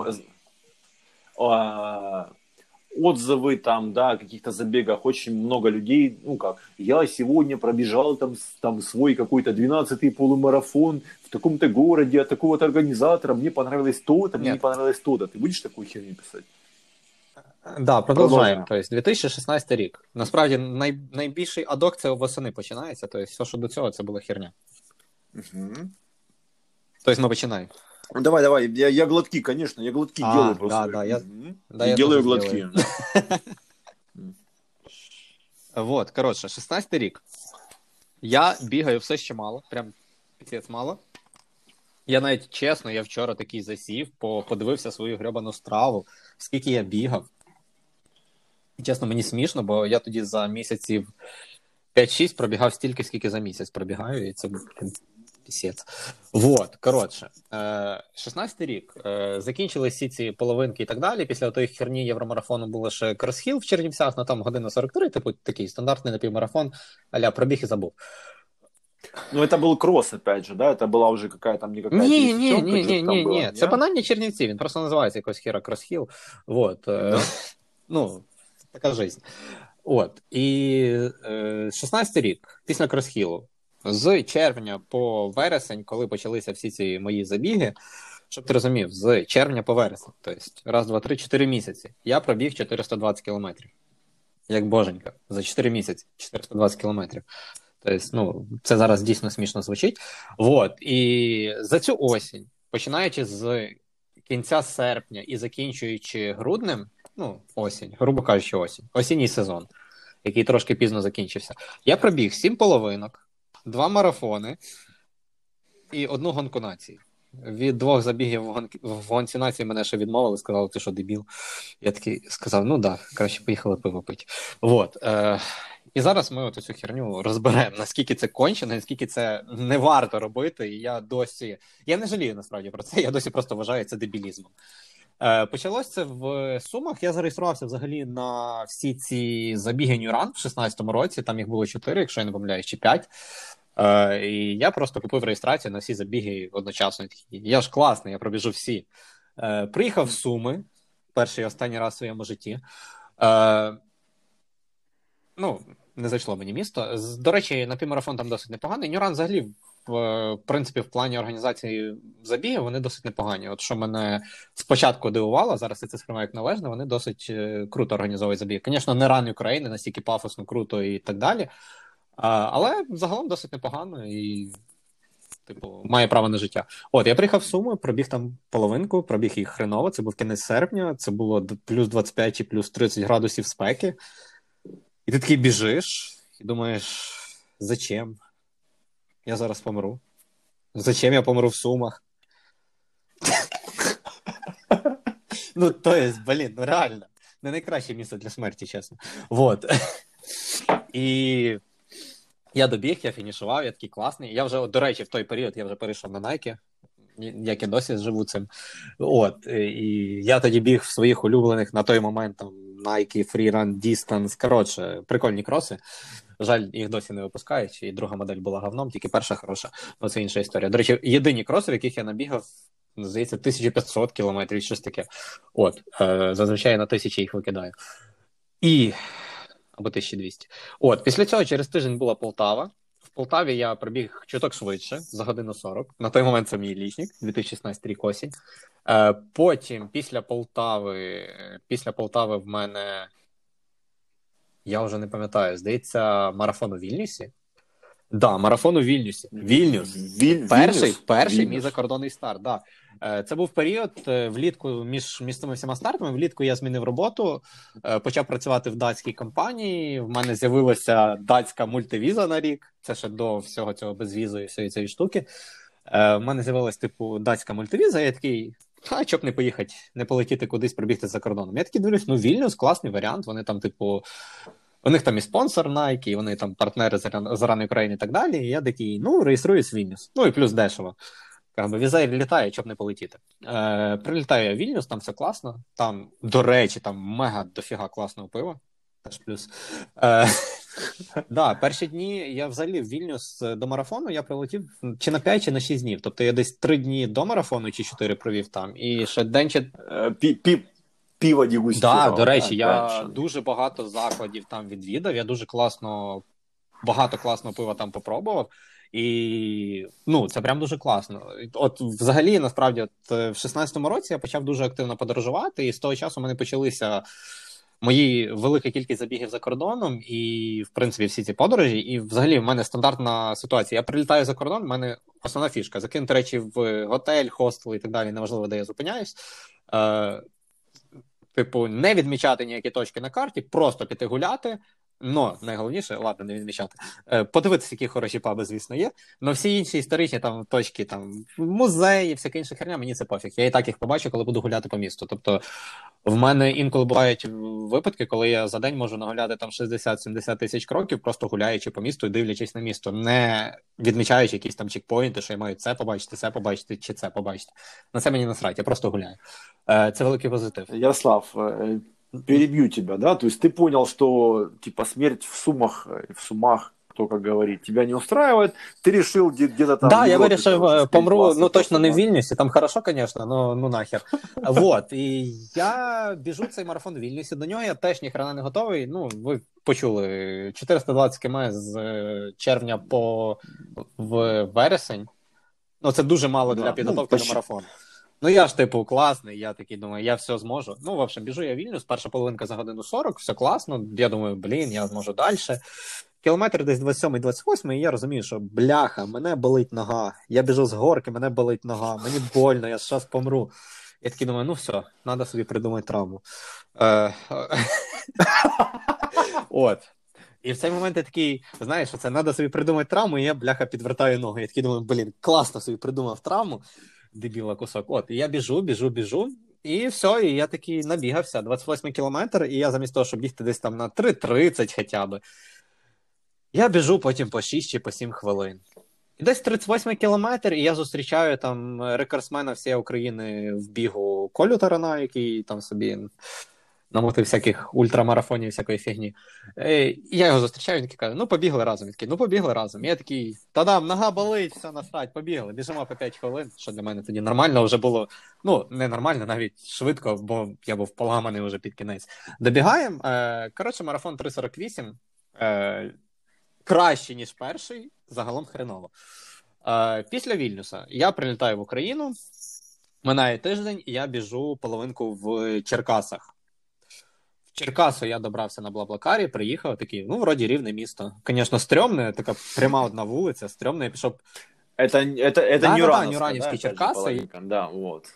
А, отзывы там, да, о каких-то забегах, очень много людей, ну как, я сегодня пробежал там, там свой какой-то двенадцатый полумарафон в таком-то городе от такого-то организатора, мне понравилось то-то, мне не понравилось то-то. Ты будешь такую херню писать? Да, продовжуємо. Тобто, дві тисячі шістнадцятий рік. Насправді, най, найбільший адок це восени починається, тобто, все, що до цього, це була херня. Угу. Тобто, ми починаємо. Давай, давай, я, я глотки, конечно, я глотки а, делаю просто. Да, да, я, угу. да, я, я делаю глотки. Вот, коротше, шістнадцятий рік. Я бігаю все ще мало, прям пісець мало. Я навіть, чесно, я вчора такий засів, подивився свою гребану страву, скільки я бігав. Чесно, мені смішно, бо я тоді за місяців п'ять-шість пробігав стільки, скільки за місяць пробігаю, і це був пісець. Вот, коротше, шістнадцятий рік. Закінчились всі ці половинки і так далі. Після тої херні Євромарафону було ще кросхіл в Чернівцях, ну там година сорок три, типу такий стандартний напівмарафон, а-ля пробіг і забув. Ну, это был кросс, опять же, да? Это была уже какая-то не какая-то Ні, ні, ні, ні, ні, ні. Це банальні Чернівці, він просто називається якось хера кросхіл. Вот. No. Ну, така жизнь. От. І е, шістнадцятий рік, після кросхілу, з червня по вересень, коли почалися всі ці мої забіги, щоб ти розумів, з червня по вересень, тобто раз, два, три, чотири місяці, я пробіг чотириста двадцять кілометрів. Як боженька. За чотири місяці чотириста двадцять кілометрів. Тобто, ну, це зараз дійсно смішно звучить. Вот. І за цю осінь, починаючи з кінця серпня і закінчуючи груднем, ну, осінь, грубо кажучи, осінь, осінній сезон, який трошки пізно закінчився, я пробіг сім половинок, два марафони і одну гонку нації. Від двох забігів в, гон... в гонці нації мене ще відмовили, сказали, ти що, дебіл? Я такий сказав, ну да, краще поїхали пиво пити. Вот. Е... І зараз ми от цю херню розберемо, наскільки це кончено, наскільки це не варто робити. І я досі, я не жалію насправді про це, я досі просто вважаю це дебілізмом. Е, почалось це в Сумах, я зареєструвався взагалі на всі ці забіги New Run в шістнадцятому році, там їх було чотири, якщо я не помиляюсь, чи п'ять. Е, і я просто купив реєстрацію на всі забіги одночасно. Я ж класний, я пробіжу всі. Е, приїхав в Суми, перший і останній раз в своєму житті. Е, ну, Не зайшло мені місто. До речі, напівмарафон там досить непоганий. Нюран взагалі, в принципі, в плані організації забігів вони досить непогані. От що мене спочатку дивувало, зараз я це сприймаю як належне, вони досить круто організовують забіг. Звісно, не ран України, настільки пафосно, круто і так далі. Але загалом досить непогано і, типу, має право на життя. От, я приїхав в Суми, пробіг там половинку, пробіг їх хреново, це був кінець серпня, це було плюс двадцять п'ять чи плюс тридцять градусів спеки. І ти такий біжиш і думаєш, зачем? Я зараз помру. Зачем я помру в Сумах? Ну, то є, блін, ну реально. Не найкраще місце для смерті, чесно. Вот. І я добіг, я фінішував, я такий класний. Я вже, до речі, в той період я вже перейшов на Nike, як і досі живу цим. От. І я тоді біг в своїх улюблених на той момент там Nike, Freerun, Distance. Коротше, прикольні кроси. Жаль, їх досі не випускають, і друга модель була говном, тільки перша хороша. Ну, це інша історія. До речі, єдині кроси, в яких я набігав, здається, тисяча п'ятсот кілометрів, щось таке. От, е, зазвичай на тисячі їх викидаю. І... або тисяча двісті. От, після цього через тиждень була Полтава. В Полтаві я пробіг чуток швидше, за годину сорок. На той момент це мій лічник, дві тисячі шістнадцятий рік осінь. Е, потім, після Полтави, після Полтави в мене, я вже не пам'ятаю, здається, марафон у Вільнюсі. Да, марафон у Вільнюсі. Вільнюс. Віль... Перший, Вільнюс? перший Вільнюс. мій закордонний старт, да. Це був період влітку між, між цими всіма стартами. Влітку я змінив роботу, почав працювати в датській компанії. В мене з'явилася датська мультивіза на рік. Це ще до всього цього безвізу і всієї цієї штуки. В мене з'явилася, типу, датська мультивіза. Я такий, а чоб не поїхати, не полетіти кудись, пробігти за кордоном. Я такий дивлюсь, ну Вільнюс, класний варіант. Вони там, типу, у них там і спонсор Nike, і вони там партнери з Ран України і так далі. І я такий, ну, реєструюсь в Вільнюс. Ну і плюс дешево. Якби віза літає, щоб не полетіти. Е, прилітаю я в Вільнюс, там все класно. Там, до речі, там мега дофіга класного пива. Теж плюс. Е, да, перші дні я взагалі в Вільнюс до марафону я прилетів чи на п'ять, чи на шість днів. Тобто я десь три дні до марафону, чи чотири провів там. І ще день чи... Пі- пі- Пиво дегустував. Да, до речі, так, я правильно. дуже багато закладів там відвідав, я дуже класно, багато класного пива там попробував. І, ну, це прям дуже класно. От, взагалі, насправді, от, в шістнадцятому році я почав дуже активно подорожувати, і з того часу в мене почалися мої велика кількість забігів за кордоном, і, в принципі, всі ці подорожі. І, взагалі, в мене стандартна ситуація. Я прилітаю за кордон, в мене основна фішка. Закинути речі в готель, хостел і так далі, неважливо, де я зупиняюсь. Е, типу, не відмічати ніякі точки на карті, просто піти гуляти. Ну, найголовніше, ладно, не відмічати. Е, подивитися, які хороші паби, звісно, є. Но всі інші історичні там точки, там, музеї, всяка інша херня, мені це пофіг. Я і так їх побачу, коли буду гуляти по місту. Тобто, в мене інколи бувають випадки, коли я за день можу нагуляти там шістдесят-сімдесят тисяч кроків, просто гуляючи по місту і дивлячись на місто, не відмічаючи якісь там чекпоінти, що я маю це побачити, це побачити, чи це побачити. На це мені насрать, я просто гуляю. Е, це великий позитив. Ярослав, э, перебью тебя, да? То есть ты понял, что типа смерть в Сумах, э, в Сумах, кто как говорит, тебя не устраивает, ты решил где- где-то там... Да, в я Европе, вирішив, короче, е, спеть помру, классно, ну точно не в просто, да. Вільнюсі, там хорошо, звісно, ну, ну нахер. Вот, і я біжу цей марафон в Вільнюсі, до нього я теж ніхрена не готовий, ну, ви почули, чотириста двадцять кілометрів з е, червня по в вересень, ну це дуже мало Да, для ну, підготовки почти. до марафону. Ну я ж типу класний, я такий думаю, я все зможу. Ну, в общем, біжу я в Вільнюс, перша половинка за годину сорок, все класно, я думаю, блін, я зможу далі. Кілометр десь двадцять сьомий двадцять восьмий, і я розумію, що бляха, мене болить нога. Я біжу з горки, мене болить нога, мені больно, я зараз помру. Я такий думаю, ну все, треба собі придумати травму. Е, От. І в цей момент я такий, знаєш, що це треба собі придумати травму, і я, бляха, підвертаю ноги. Я такий думаю, блін, класно собі придумав травму, дебіла кусок. От, і я біжу, біжу, біжу, і все, і я такий набігався, двадцять восьмий кілометр, і я замість того, щоб бігти десь там на три тридцять хоча б, я біжу потім по шість чи по сім хвилин. І десь тридцять восьмий кілометр, і я зустрічаю там рекордсмена всієї України в бігу Колю Тарана, який там собі намотив всяких ультрамарафонів, всякої фігні. І я його зустрічаю, він такий каже, ну побігли разом. Він такий, ну побігли разом. І я такий, та-дам, нога болить, все насрать, побігли. Біжимо по п'ять хвилин, що для мене тоді нормально вже було. Ну, не нормально, навіть швидко, бо я був поламаний вже під кінець. Добігаємо. Коротше, марафон три сорок вісім. Е, краще, ніж перший, загалом хреново. Е, після Вільнюса я прилітаю в Україну, минає тиждень, і я біжу половинку в Черкасах. В Черкасу я добрався на Блаблакарі, приїхав, такий, ну, вроді рівне місто. Звісно, стрьомне, така пряма одна вулиця, стрьомне, я пішов... Это, это, это Да, да, да, Нюрановская, Нюранівські да, опять же, Черкаси. половинка. Да, вот.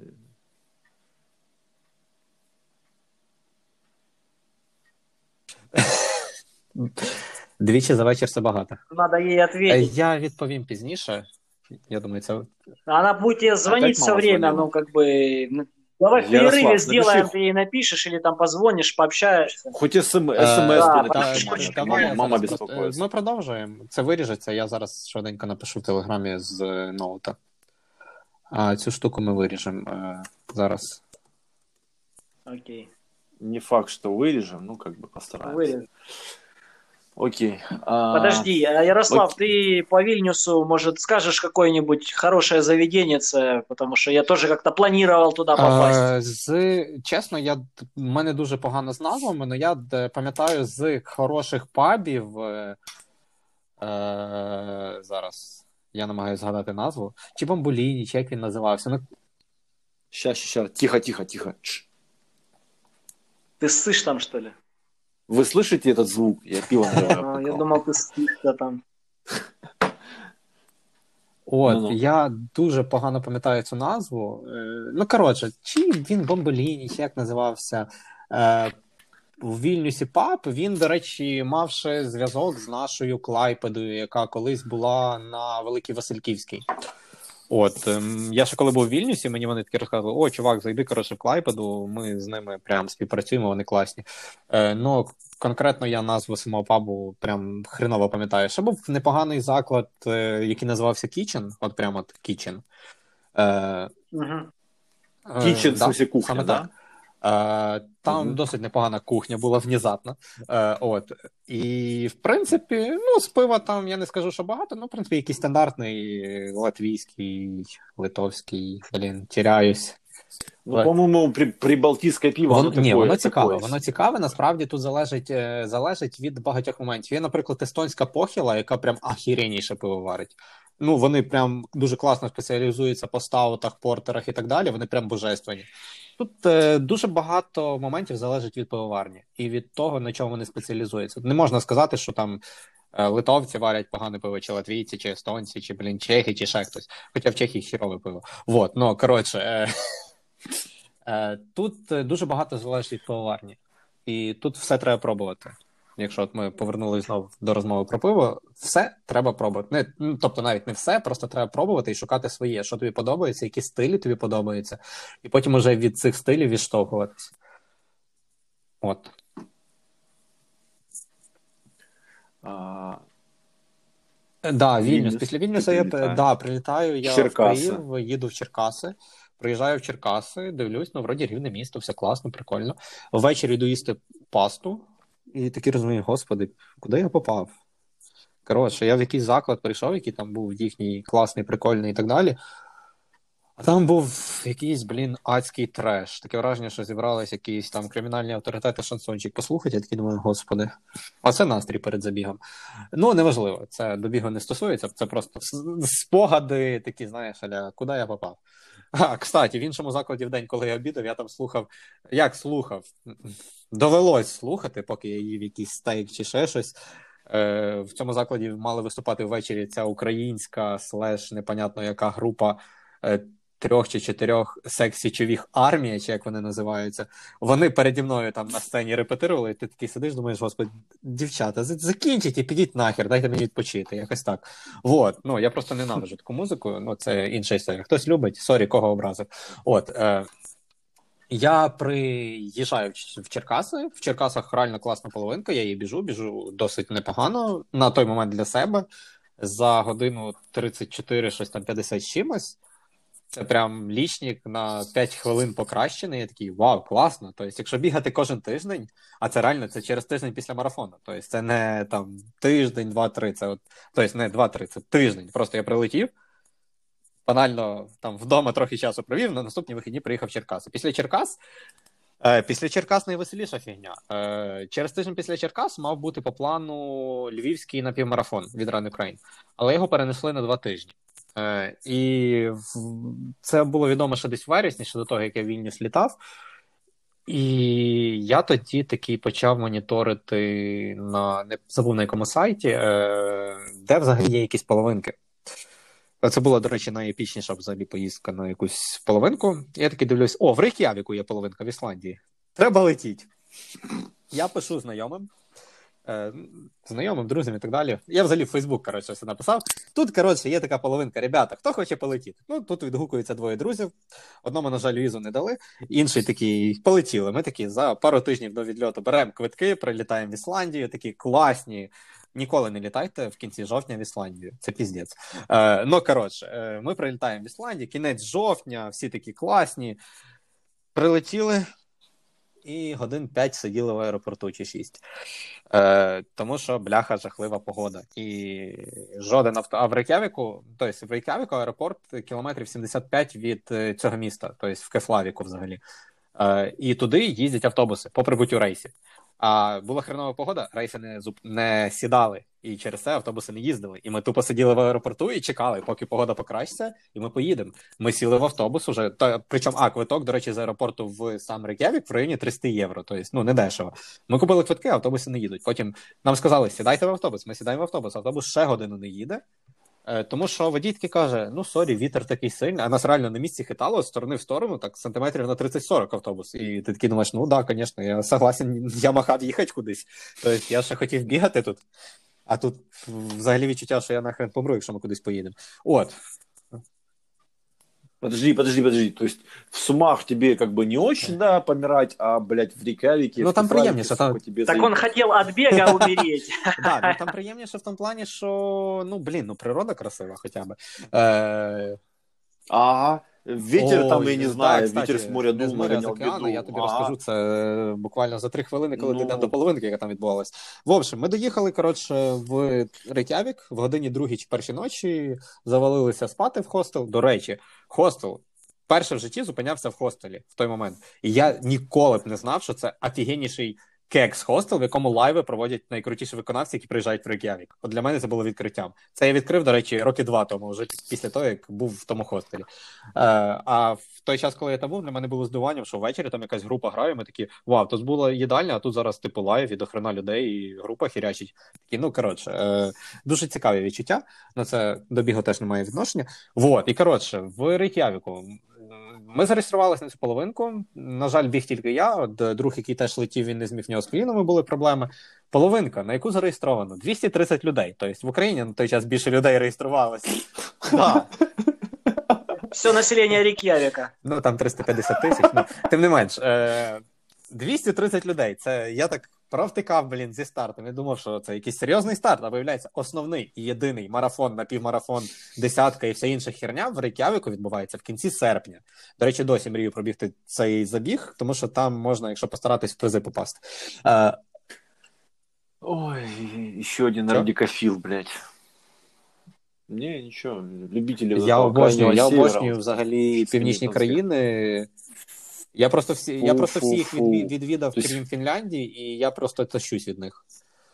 Двічі за вечір це багато. Надо ей Е, ответить. Я відповім пізніше. Я думаю, це... Она будет тебе звонить Опять все мама время, звонила. ну, как бы... ну, давай в Ярослав, перерыве сделаем, напиши. ты ей напишешь или там позвонишь, пообщаешься. Хоть СМ, Е, СМС да, бы та- напиши, давай, маме, давай я мама, мама зараз просто- беспокоится. Ми продовжуємо. Це виріжеться. Я зараз швиденько напишу в Телеграмі з е, ноута. А цю штуку ми виріжемо е, зараз. Окей. Не факт, что вырежем, ну, как бы постараемся. Вырежем. Окей. а, Подожди, а, Ярослав, ты по Вильнюсу, может, скажешь какое-нибудь хорошее заведенье, потому что я тоже как-то планировал туда попасть. Е, з, чесно, я, в мене дуже погано з назвами, але я д- пам'ятаю з хороших пабів. Е, е, зараз я намагаюся згадати назву. Чи Бамбуліні, чи як він називався. Ну, Щас, щас, тихо, тихо, тихо. Тш. Ты ссышь там, что ли? Вы слышите этот звук? Я пиво А, наливаю. Я думал, ты ссышься там. От, Ну-ну. я дуже погано пам'ятаю цю назву. Е, ну, коротше, чи він Бомбеліні, чи як називався. Е, в Вільнюсі паб, він, до речі, мав ще зв'язок з нашою Клайпедою, яка колись була на Великій Васильківській. От, ем, я ще коли був в Вільнюсі, мені вони такі розказували: о, чувак, зайди, коротше, в Клайпеду, ми з ними прям співпрацюємо, вони класні. Е, ну, конкретно я назву самого пабу прям хреново пам'ятаю. Ще був непоганий заклад, е, який називався Kitchen, от прямо от Kitchen. Е, Мгм. е, Кічен, в да, смысле, кухня, саме да? так. Е, там Мгм. досить непогана кухня була внезапно. Е, от. І, в принципі, ну, з пива там я не скажу, що багато, ну, в принципі, якийсь стандартний латвійський, литовський, блін, тіряюсь. Ну, Ладно. по-моему, при, прибалтийское пиво, Воно, оно ні, такое, воно цікаве, такое. воно цікаве, насправді тут залежить, е, залежить від багатьох моментів. Є, наприклад, естонська похіла, яка прям ахіренніше пиво варить. Ну, вони прям дуже класно спеціалізуються по стаутах, портерах і так далі, вони прям божественні. Тут е, дуже багато моментів залежить від пивоварні і від того, на чому вони спеціалізуються. Не можна сказати, що там е, литовці варять погане пиво, чи латвійці, чи естонці, чи, блін, чехи, чи ще хтось. Хоча в Чехії хірове пиво. Вот, ну, коротше, е, е, тут е, дуже багато залежить від пивоварні. І тут все треба пробувати. Якщо от ми повернулися знову до розмови про пиво, все треба пробувати. Не, ну, тобто навіть не все, просто треба пробувати і шукати своє, що тобі подобається, які стилі тобі подобаються, і потім уже від цих стилів відштовхуватися. От. А, Е, Да, Вільнюс. Вільнюс. Після Ти Вільнюса я прилітаєш. да, прилітаю, я Черкаси. в Київ, їду в Черкаси, приїжджаю в Черкаси, дивлюсь, ну, вроді рівне місто, все класно, прикольно. Ввечері йду їсти пасту, і такий розумію, господи, куди я попав? Коротше, я в якийсь заклад прийшов, який там був їхній класний, прикольний і так далі. А там був якийсь, блін, адський треш. Таке враження, що зібрались якісь там кримінальні авторитети, шансончик послухати. Я такий думаю, господи, а це настрій перед забігом. Ну, неважливо, це до бігу не стосується, це просто спогади такі, знаєш, аля, куди я попав. А, кстати, в іншому закладі в день, коли я обідав, я там слухав, як слухав, довелось слухати, поки я їв якийсь стейк чи ще щось. Е, в цьому закладі мали виступати ввечері ця українська слеш, непонятно яка група е, трьох чи чотирьох секс-січових армія, чи як вони називаються. Вони переді мною там на сцені репетирували, і ти такий сидиш, думаєш, господи, дівчата, закінчіть і підіть нахер, дайте мені відпочити, якось так. Вот, ну, я просто ненавиджу таку музику, ну, це інша історія. Хтось любить, сорі, кого образив. От, е, я приїжджаю в Черкаси, в Черкасах реально класна половинка, я її біжу, біжу досить непогано, на той момент для себе, за годину тридцять чотири, щось там п'ятдесят чимось. Це прям лічник на п'ять хвилин покращений, я такий, вау, класно. Тобто, якщо бігати кожен тиждень, а це реально, це через тиждень після марафону, тобто це не там тиждень, два-три, це от, тобто не два-три, це тиждень, просто я прилетів, банально там вдома трохи часу провів, на наступні вихідні приїхав в Черкаси. Після Черкас Е, Після Черкас найвеселіша фігня. Е, Через тиждень після Черкас мав бути по плану львівський напівмарафон від Run Ukraine, але його перенесли на два тижні. Е, І в- це було відомо ще десь в вересні, ще до того, як я в Вільнюс літав. І я тоді такий почав моніторити на не забув на якому сайті, е, де взагалі є якісь половинки. Це була, до речі, найепічніша взагалі поїздка на якусь половинку. Я такий дивлюсь: о, в Рейк'явіку є половинка в Ісландії. Треба летіть. Я пишу знайомим, е, знайомим, друзям і так далі. Я взагалі в Фейсбук, коротше, все написав. Тут, коротше, є така половинка. Ребята, хто хоче полетіти? Ну, тут відгукуються двоє друзів. Одному, на жаль, візу не дали. Інший такий, полетіли. Ми такі за пару тижнів до відльоту беремо квитки, прилітаємо в Ісландію, такі класні. Ніколи не літайте в кінці жовтня в Ісландію. Це піздець. Е, ну, коротше, е, ми прилітаємо в Ісландію, кінець жовтня, всі такі класні. Прилетіли і годин п'ять сиділи в аеропорту чи шість. Е, тому що, бляха, жахлива погода. І жоден авто... А в Рейк'явіку, тобто в Рейк'явіку аеропорт кілометрів сімдесят п'ять від е, цього міста, тобто в Кефлавіку взагалі. Е, і туди їздять автобуси по прибуттю рейсів. А була хренова погода, рейси не, зуп... не сідали, і через це автобуси не їздили. І ми тупо сиділи в аеропорту і чекали, поки погода покращиться, і ми поїдемо. Ми сіли в автобус уже, та, причому, а, квиток, до речі, з аеропорту в сам Рейк'явік в районі триста євро, тобто, ну, не дешево. Ми купили квитки, а автобуси не їдуть. Потім нам сказали, сідайте в автобус, ми сідаємо в автобус, автобус ще годину не їде, е, тому що водій таки каже, ну, сорі, вітер такий сильний, а нас реально на місці хитало з сторони в сторону, так, сантиметрів на тридцять-сорок автобус. І ти такий думаєш, ну, да, звісно, я согласен, я махав їхати кудись. Тобто, я ще хотів бігати тут, а тут взагалі відчуття, що я нахрен помру, якщо ми кудись поїдемо. От. Подожди, подожди, подожди. То есть в Сумах тебе как бы не очень, да, помирать, а, блядь, в Рейк'явіке, Ну, в там Кефлавіке, приємніше, сука, там- тебе Так заеб- он хотел от бега умереть. Да, ну там приємніше в тому плані, що, ну, блін, ну природа красива хоча б. Е, Ага. Ветер там, ой, я не да, знаю, кстати, ветер с моря не з дул, моря, а з нагонял океану, беду. я тобі Ага. розкажу це е, буквально за три хвилини, коли Ну. дійдемо до половинки, яка там відбувалась. В общем, ми доїхали, коротше, в Рейк'явік в годині другій чи першій ночі, завалилися спати в хостел. До речі, хостел перше в житті зупинявся в хостелі в той момент. І я ніколи б не знав, що це офігенніший кекс-хостел, в якому лайви проводять найкрутіші виконавці, які приїжджають в Рейк'явік. От для мене це було відкриттям. Це я відкрив, до речі, роки два тому, вже після того, як був в тому хостелі. Е, а в той час, коли я там був, для мене було здивуванням, що ввечері там якась група грає, ми такі, вау, тут була їдальня, а тут зараз типу лайв і до хрена людей, і група хірячить. Такі, ну, коротше, е, дуже цікаві відчуття, на це до бігу теж немає відношення. Вот, і коротше, в Рейк'явіку ми зареєструвалися на цю половинку. На жаль, біг тільки я. От друг, який теж летів, він не зміг, в нього з колінами були проблеми. Половинка, на яку зареєстровано двісті тридцять людей. Тобто в Україні на той час більше людей реєструвалося. Да. Все население Рейк'явика. Ну, там триста п'ятдесят тисяч. Ну, тим не менш, е- двісті тридцять людей. Це я так провтикав, блін, зі стартом. Я думав, що це якийсь серйозний старт, а виявляється, основний і єдиний марафон, напівмарафон, десятка і вся інша херня в Рейк'явіку відбувається в кінці серпня. До речі, досі мрію пробігти цей забіг, тому що там можна, якщо постаратись, в призи попасти. Е- Ой, еще один Чё? радикофил, блядь. Не, ничего, любители Я этого обожнюю, крайнего я севера, обожнюю вот, взагалі північні скандинавських. країни. Я просто всі, я просто всі їх Фу-фу-фу. відві- відвідав, Тобто- крім Фінляндії, і я просто тащусь від них.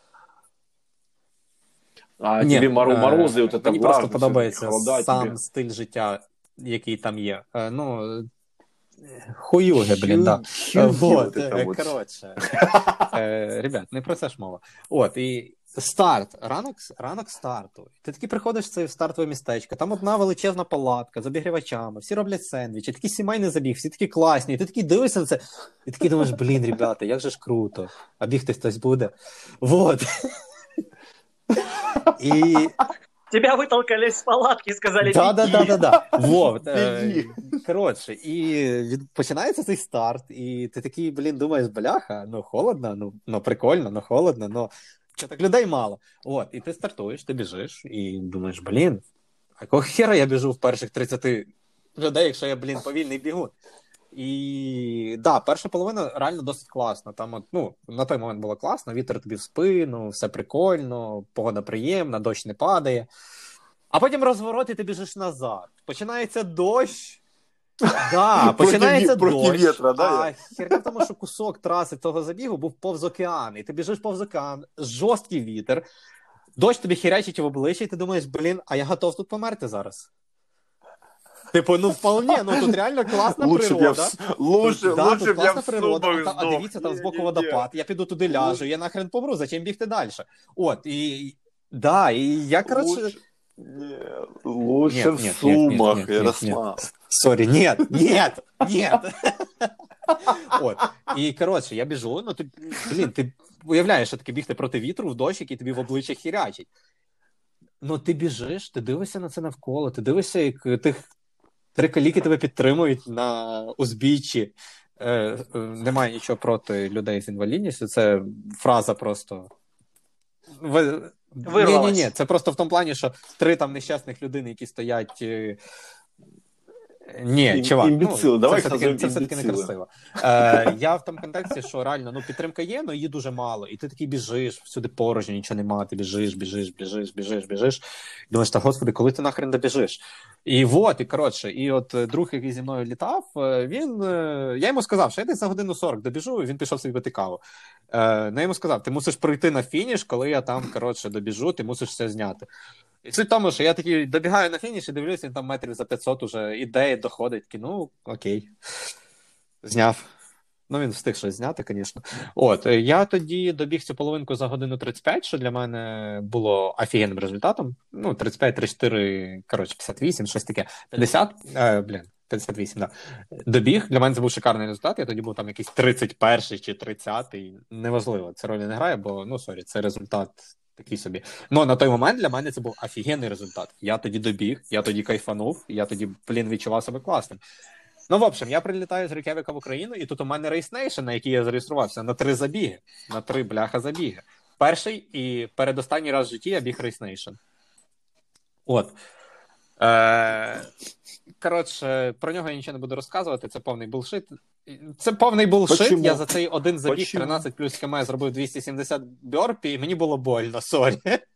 А Ні, тебе мору- е, морозы, вот это мені просто влажность, подобається холода сам тебе. стиль життя, який там є. Е, Ну, хуюги, блін, да. Хюги Вот, вот это е, вот. коротше. Е, Ребят, не про це ж мова. От, і старт, ранок, ранок старту. Ти такий приходиш в це стартове містечко, там одна величезна палатка з обігрівачами, всі роблять сендвічі, такий сімейний забіг, всі такі класні, і ти такий дивишся на це, і такий думаєш, блін, ребята, як же ж круто, а бігти хтось буде. Вот. І Тебя вытолкали из палатки и сказали, Да, да, «Беги». да, да, да. Вот. е, Біги. Коротше, і від... починається цей старт, і ти такий, блін, думаєш, бляха, ну холодно, ну, ну прикольно, ну холодно, ну що так людей мало. От, і ти стартуєш, ти біжиш, і думаєш, блін, а якого хера я біжу в перших тридцять людей, якщо я, блін, повільний бігун. І да, перша половина реально досить класна. Там, от, ну, на той момент було класно, вітер тобі в спину, все прикольно, погода приємна, дощ не падає. А потім розворот, і ти біжиш назад. Починається дощ, Да, починається проти, проти дощ, вітра, да, а херня в тому, що кусок траси того забігу був повз океан, і ти біжиш повз океан, жорсткий вітер, дощ тобі херячить в обличчя, і ти думаєш, блін, а я готов тут померти зараз. Типу, ну вполне, ну тут реально класна лучше природа. В... Лучше, тут, да, лучше тут б я класна в природа, сумах а, а дивіться, там збоку водопад, я піду туди ляжу, я нахрен помру, зачем бігти далі? От, і, да, і я, коротше... Лучше, не, лучше нет, в нет, Сумах, нет, нет, Ярослав. Сорі, нет, нет, нет. От, і, коротше, я біжу, ну, ти, блін, ти уявляєш, що таке бігти проти вітру в дощ, який тобі в обличчя хірячить. Ну, ти біжиш, ти дивишся на це навколо, ти дивишся, як тих три каліки тебе підтримують на узбіччі. Е, е, немає нічого проти людей з інвалідністю, це фраза просто... Ви... Вирвалась. Ні-ні-ні, це просто в тому плані, що три там нещасних людини, які стоять... Е... Ні, Ім, чувак, імбіцили, ну, давай це все-таки, це все-таки не красиво. Е, я в тому контексті, що реально, ну, підтримка є, але її дуже мало. І ти такий біжиш, всюди порожньо, нічого нема, ти біжиш, біжиш, біжиш, біжиш, біжиш. Думаєш, та господи, коли ти нахрен добіжиш? І от, і коротше, і от друг, який зі мною літав, він, я йому сказав, що я десь за годину сорок добіжу, він пішов собі пити каву. Е, я йому сказав, ти мусиш пройти на фініш, коли я там, коротше, добіжу, ти мусиш все зняти. І суть в тому, що я такий добігаю на фініш і дивлюся, він там метрів за п'ятсот уже іде, доходить. Такий, ну, окей. Зняв. Ну, він встиг щось зняти, звісно. От, я тоді добіг цю половинку за годину тридцять п'ять, що для мене було офігенним результатом. Ну, тридцять п'ять, тридцять чотири, коротше, п'ятдесят вісім, щось таке. п'ятдесят, е, блін, п'ятдесят вісім, так. Да. Добіг, для мене це був шикарний результат, я тоді був там якийсь тридцять перший чи тридцятий, неважливо, це ролі не грає, бо, ну, сорі, це результат такий собі. Ну, на той момент для мене це був офігенний результат. Я тоді добіг, я тоді кайфанув, я тоді, блін, відчував себе класним. Ну, в общем, я прилітаю з Рейк'явіка в Україну, і тут у мене Race Nation, на який я зареєструвався, на три забіги. На три бляха забіги. Перший і передостанній раз в житті я біг Race Nation. От. Е- Коротше, про нього я нічого не буду розказувати, це повний булшит. Це повний булшит, Почему? Я за цей один забіг Почему? тринадцять плюс км зробив двісті сімдесят бьорпі, і мені було больно, сорі.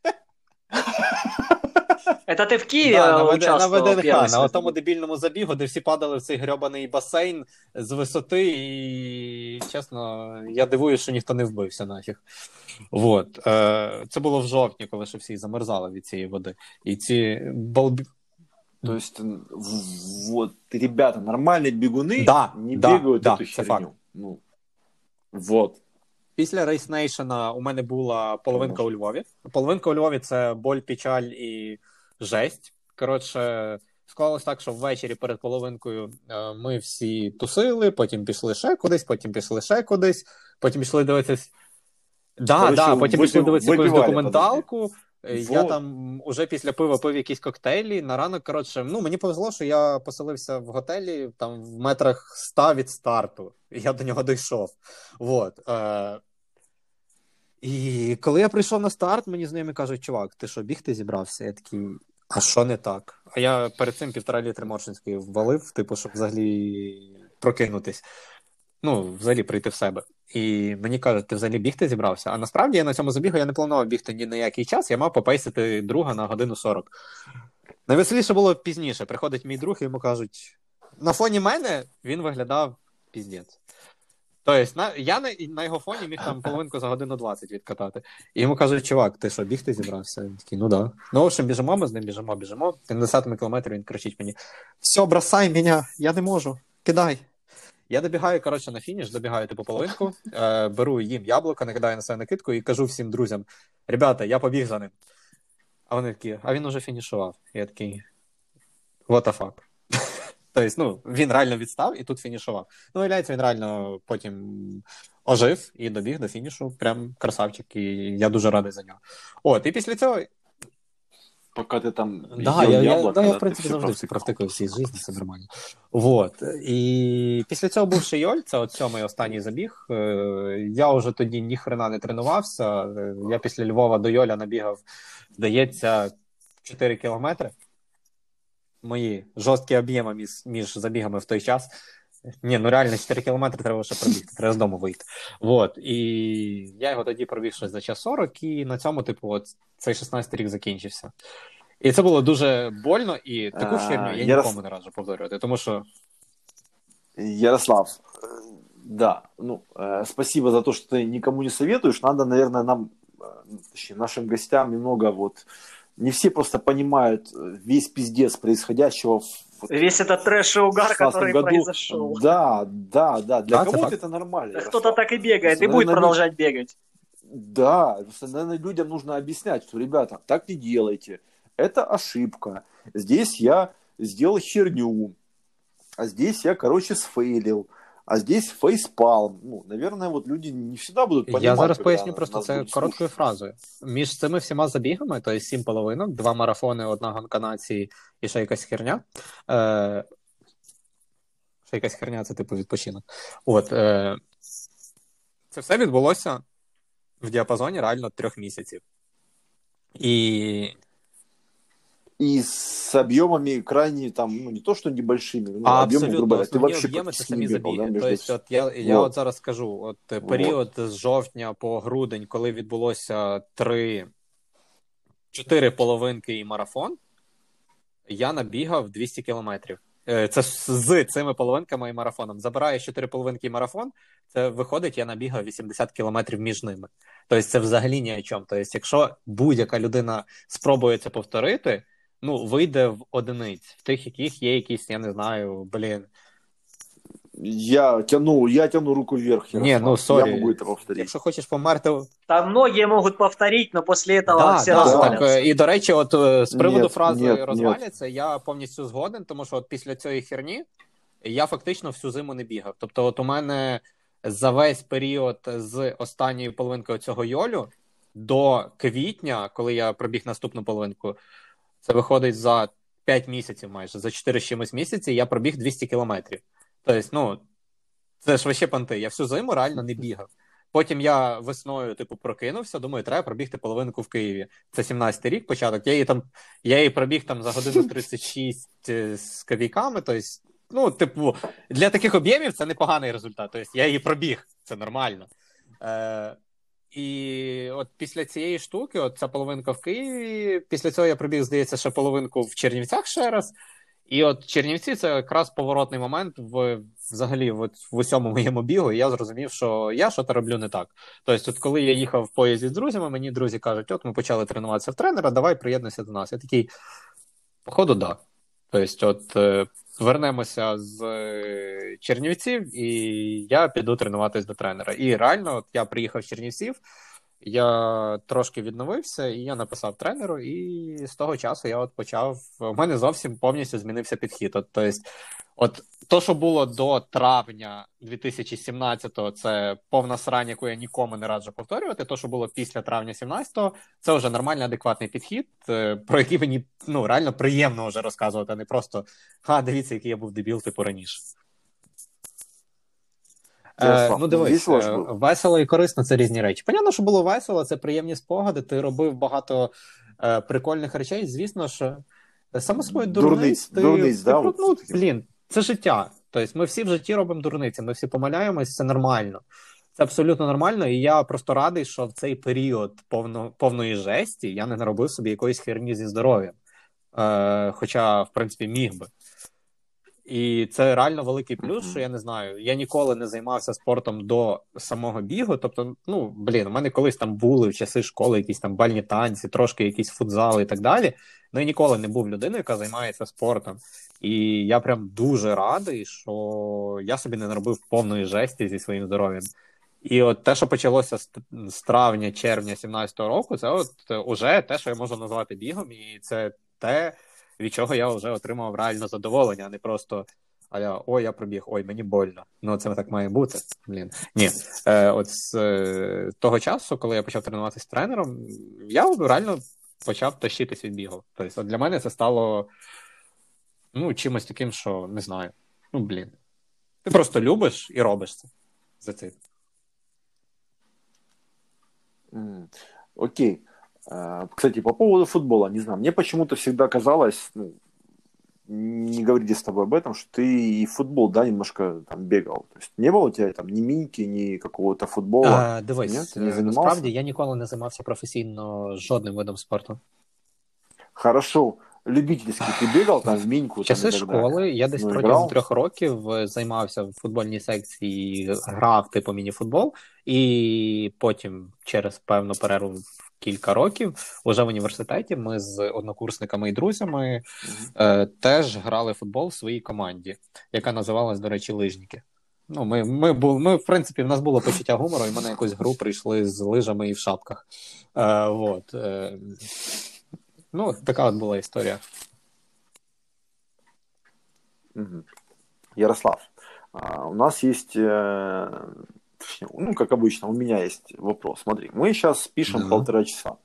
Это ты в Киеве да, участвовал? На ВДНХ, на тому дебільному забігу, де всі падали в цей грьобаний басейн з висоти, і, чесно, я дивуюсь, що ніхто не вбився нафіг. Вот. Е, це було в жовтні, коли ще всі замерзали від цієї води. І ці балбі... То есть, вот, ребята, нормальные бегуны да, не да, бегают да, эту це херню. факт. Ну, вот. Після Race Nation у мене була половинка у Львові. Половинка у Львові – це боль, печаль і жесть. Коротше, склалось так, що ввечері перед половинкою ми всі тусили, потім пішли ще кудись, потім пішли ще кудись, потім пішли дивитися... Да, Короче, да, потім випів... пішли дивитися якусь документалку. Подожди. Я вот. Там уже після пива пив якісь коктейлі. На ранок, коротше, ну, мені повезло, що я поселився в готелі там в метрах ста від старту. Я до нього дійшов. Вот. Е- І коли я прийшов на старт, мені знайомі кажуть, чувак, ти що, бігти зібрався? Я такий, а що не так? А я перед цим півтора літри Моршинської ввалив, типу, щоб взагалі прокинутись. Ну, взагалі прийти в себе. І мені кажуть, ти взагалі бігти зібрався? А насправді я на цьому забігу я не планував бігти ні на який час, я мав попейсити друга на годину сорок. Найвеселіше було пізніше. Приходить мій друг і йому кажуть, на фоні мене він виглядав піздець. Тобто, на, я на, на його фоні міг там половинку за годину двадцять відкатати. І йому кажуть, чувак, ти що, бігти зібрався? Він такий, ну да. Ну, в общем, біжимо, ми з ним біжимо, біжимо. На десятому кілометрі він кричить мені, все, бросай мене, я не можу, кидай. Я добігаю, коротше, на фініш, добігаю типу половинку, е, беру їм яблуко, накидаю на себе накидку і кажу всім друзям, ребята, я побіг за ним. А вони такі, а він уже фінішував. Я такий, what the fuck. Тобто, ну, він реально відстав і тут фінішував. Ну, виявляється, він реально потім ожив і добіг до фінішу. Прям красавчик, і я дуже радий за нього. От, і після цього... Поки ти там да, я, яблуко, я, да, я, в принципі, завжди всі провтикаю всі з житті, все нормально. Вот. І після цього був ще Йоль, це от сьомий останній забіг. Я вже тоді ні хрена не тренувався. Я після Львова до Йоля набігав, здається, чотири кілометри. Мої жорсткі об'єми між, між забігами в той час. Ні, ну реально чотири кілометри треба ще пробігти, треба з дому вийти. Вот. І я його тоді пробіг щось за час сорок, і на цьому, типу, от цей шістнадцятий рік закінчився. І це було дуже больно, і таку херню я нікому не раджу повторювати, тому що Ярослав, э, да, ну, э, спасибо за то, что ты никому не советуешь. Надо, наверное, нам, э, точнее, нашим гостям немного вот... Не все просто понимают э, весь пиздец происходящего в, вот, Весь этот трэш и в угар, шестнадцатом который году. произошел. Да, да, да. Для Да, це кого-то факт. это нормально, Кто-то Ярослав. так и бегает, Просто, и будет наверное, лю- продолжать бегать. Да, просто, наверное, людям нужно объяснять, что, ребята, так не делайте. Это ошибка. Здесь я сделал херню. А здесь я, короче, сфейлил. А здесь фейспалм. Ну, наверное, вот люди не всегда будут понимать, Я зараз когда поясню просто нас це будут короткою слушать. фразою. Між цими всіма забігами, тобто сім половинок, два марафони, одна гонка нації і ще якась херня. Е, ще якась херня, це типу відпочинок. От, е, це все відбулося в діапазоні реально трьох місяців. І И с объемами крайне там, ну, не то, что небольшими, ну, А объемы, грубо абсолютно говоря, ты основні вообще об'єми це практически не самі бегал, да, забіги. между... Тобто, от я, я Вот, от зараз скажу, от е, вот. період з жовтня по грудень, коли відбулося три, чотири половинки і марафон, я набігав двісті кілометрів. Е, Це з з цими половинками і марафоном. Забираєш чотири половинки і марафон, це виходить, я набігав вісімдесят кілометрів між ними. Тобто це взагалі ні о чому. Тобто, якщо будь-яка людина спробує це повторити, ну, вийде в одиниць, в тих, яких є якісь, я не знаю, блін. Я тяну, я тяну руку вверх, Ні, Ярослав. ну, Я сорі. могу это повторить. Якщо хочеш померти... Там многие могут повторить, но после этого Да, все да, развалятся. так, е, і, до речі, от е, з приводу Нет, фрази нет, нет. «розваляться», я повністю згоден, тому що от після цієї херні я фактично всю зиму не бігав. Тобто от у мене за весь період з останньої половинки цього йолю до квітня, коли я пробіг наступну половинку, це виходить за п'ять місяців майже, за чотири з чимось місяці я пробіг двісті кілометрів. Тобто, ну, це ж вообще понти. Я всю зиму реально не бігав. Потім я весною, типу, прокинувся, думаю, треба пробігти половинку в Києві. Це сімнадцятий рік, початок. Я її там, я її пробіг там за годину тридцять шість з копійками, тобто, ну, типу, для таких об'ємів це непоганий результат. Тобто, я її пробіг, це нормально. Е, і от після цієї штуки, от ця половинка в Києві, після цього я пробіг, здається, ще половинку в Чернівцях ще раз. І от Чернівці – це якраз поворотний момент в, взагалі в, в усьому моєму бігу, і я зрозумів, що я щось роблю не так. Тобто, от коли я їхав в поїзді з друзями, мені друзі кажуть, от ми почали тренуватися в тренера, давай приєднуйся до нас. Я такий, походу, да. Тобто, от е, вернемося з е, Чернівців, і я піду тренуватись до тренера. І реально, от я приїхав з Чернівців, я трошки відновився, і я написав тренеру, і з того часу я от почав... У мене зовсім повністю змінився підхід. От, тобто, от то, що було до травня дві тисячі сімнадцятого, це повна срань, яку я нікому не раджу повторювати. То, що було після травня сімнадцятого, це вже нормальний, адекватний підхід, про який мені, ну, реально приємно вже розказувати, а не просто «Ха, дивіться, який я був дебіл, типу, раніше». Е, ну, дивись, е, весело і корисно – це різні речі. Понятно, що було весело, це приємні спогади, ти робив багато е, прикольних речей, звісно, що саме собою дурниць, ти, дурниць, ти, да, ти, от ну, блін, це життя. Тобто ми всі в житті робимо дурниці, ми всі помиляємось, це нормально. Це абсолютно нормально, і я просто радий, що в цей період повно, повної жесті я не наробив собі якоїсь херні зі здоров'ям. Е, хоча, в принципі, міг би. І це реально великий плюс, що я не знаю, я ніколи не займався спортом до самого бігу, тобто, ну, блін, у мене колись там були в часи школи якісь там бальні танці, трошки якісь футзали і так далі, ну, я ніколи не був людиною, яка займається спортом. І я прям дуже радий, що я собі не наробив повної жесті зі своїм здоров'ям. І от те, що почалося з травня-червня сімнадцятого року, це от уже те, що я можу назвати бігом, і це те, від чого я вже отримав реально задоволення, а не просто аля, ой, я пробіг, ой, мені больно. Ну, це так має бути. Блін. Ні. Е, от з е, того часу, коли я почав тренуватися тренером, я реально почав тащитись від бігу. Тобто, от для мене це стало, ну, чимось таким, що, не знаю, ну, блін. Ти просто любиш і робиш це. За це. Mm. Окей. Кстати, по поводу футбола, не знаю, мне почему-то всегда казалось, ну, не говорили с тобой об этом, что ты и в футбол, да, немножко там бегал. То есть не было у тебя там ни міньки, ні какого-то футбола? А, дивись, не насправді я ніколи не займався професійно жодним видом спорту. Хорошо. любительський ти бігав там в міньку? Часи школи, я десь ну, протягом трьох років займався в футбольній секції, грав типу міні-футбол, і потім через певну перерву кілька років, уже в університеті, ми з однокурсниками і друзями mm-hmm. е, теж грали в футбол в своїй команді, яка називалась, до речі, Лижники. Ну, ми, ми, ми, ми, в принципі, в нас було почуття гумору, і ми на якусь гру прийшли з лижами і в шапках. Е, вот. Е, ну, така от була історія. Mm-hmm. Ярослав, а, у нас есть... Э... Ну, как обычно, у меня есть вопрос. Смотри, мы сейчас пишем mm-hmm. полтора часа.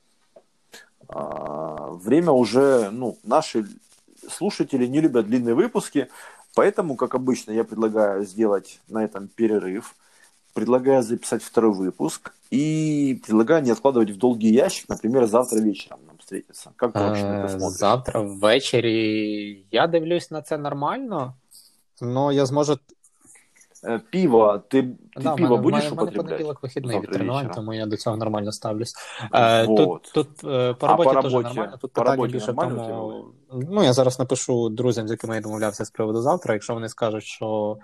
А, время уже, ну, наши слушатели не любят длинные выпуски, поэтому, как обычно, я предлагаю сделать на этом перерыв, предлагаю записать второй выпуск и предлагаю не откладывать в долгий ящик, например, завтра вечером нам встретиться. Как ты вообще на это смотришь? Завтра ввечері я дивлюсь на це нормально, но я зможу... Пиво, ти, ти да, пиво мене, будеш мене, употребляти? У мене понеділок вихідний від тренувань, тому я до цього нормально ставлюсь. Вот. Тут, тут по роботі теж нормально, тут по питання більше в тому... Ну, я зараз напишу друзям, з якими я домовлявся з приводу завтра, якщо вони скажуть, що...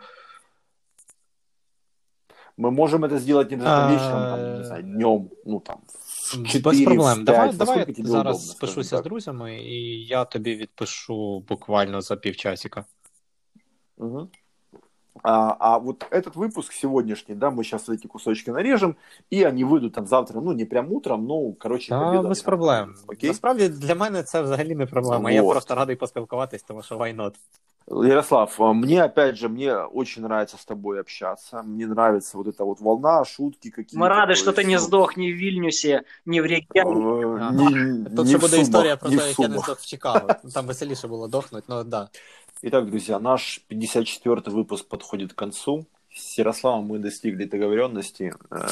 Ми можемо це зробити не а... вечором, там, не знаю, днем, ну там, в чотири, без проблем. в п'ять, давай, давай я зараз удобно, спишуся з друзями, і я тобі відпишу буквально за півчасика. Угу. А, а вот этот выпуск сегодняшний, да, мы сейчас эти кусочки нарежем, и они выйдут там завтра, ну, не прям утром, ну, короче, да, без проблем. Окей? Насправді, для мене це взагалі не проблема. Вот. Я просто радий поспілкуватись, тому що why not? Ярослав, мне, опять же, мне очень нравится с тобой общаться, мне нравится вот эта вот волна, шутки какие-то. Мы рады, что ты не сдох ни в Вильнюсе, ни в Рейкьявике. Тут ще буде історія про те, як я не здох в Чикаго. Там веселіше було дохнуть, но да. Итак, друзья, наш пятьдесят четвёртый выпуск подходит к концу. С Ярославом мы достигли договоренности,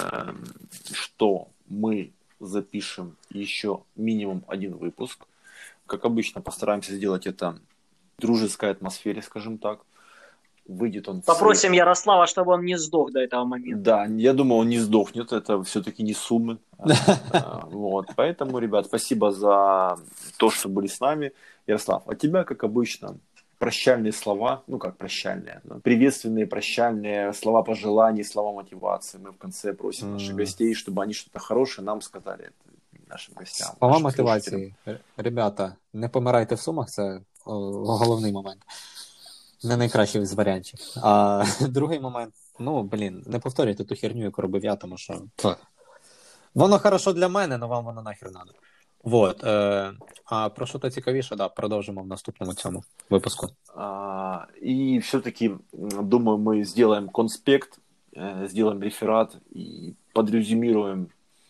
что мы запишем еще минимум один выпуск. Как обычно, постараемся сделать это в дружеской атмосфере, скажем так. Выйдет он... Попросим Ярослава, чтобы он не сдох до этого момента. Да, я думаю, он не сдохнет, это все-таки не суммы. Вот, поэтому, ребят, спасибо за то, что были с нами. Ярослав, а тебя, как обычно... прощальные слова, ну как прощальные, приветственные, прощальные слова пожеланий, слова мотивации. Мы в конце просим mm. наших гостей, чтобы они что-то хорошее нам сказали, нашим гостям. Слова мотивації. Ребята, не помирайте в Сумах, це о, головний момент. Не найкращий з варіантів. А другий момент, ну, блін, не повторюйте ту херню, яку робив я, тому що воно хорошо для мене, але вам воно нахер надо. Вот. Э, а про що-то цікавіше, да, продовжимо в наступному цьому випуску. А, и все-таки, думаю, мы сделаем конспект, э, сделаем реферат и подрезюмируем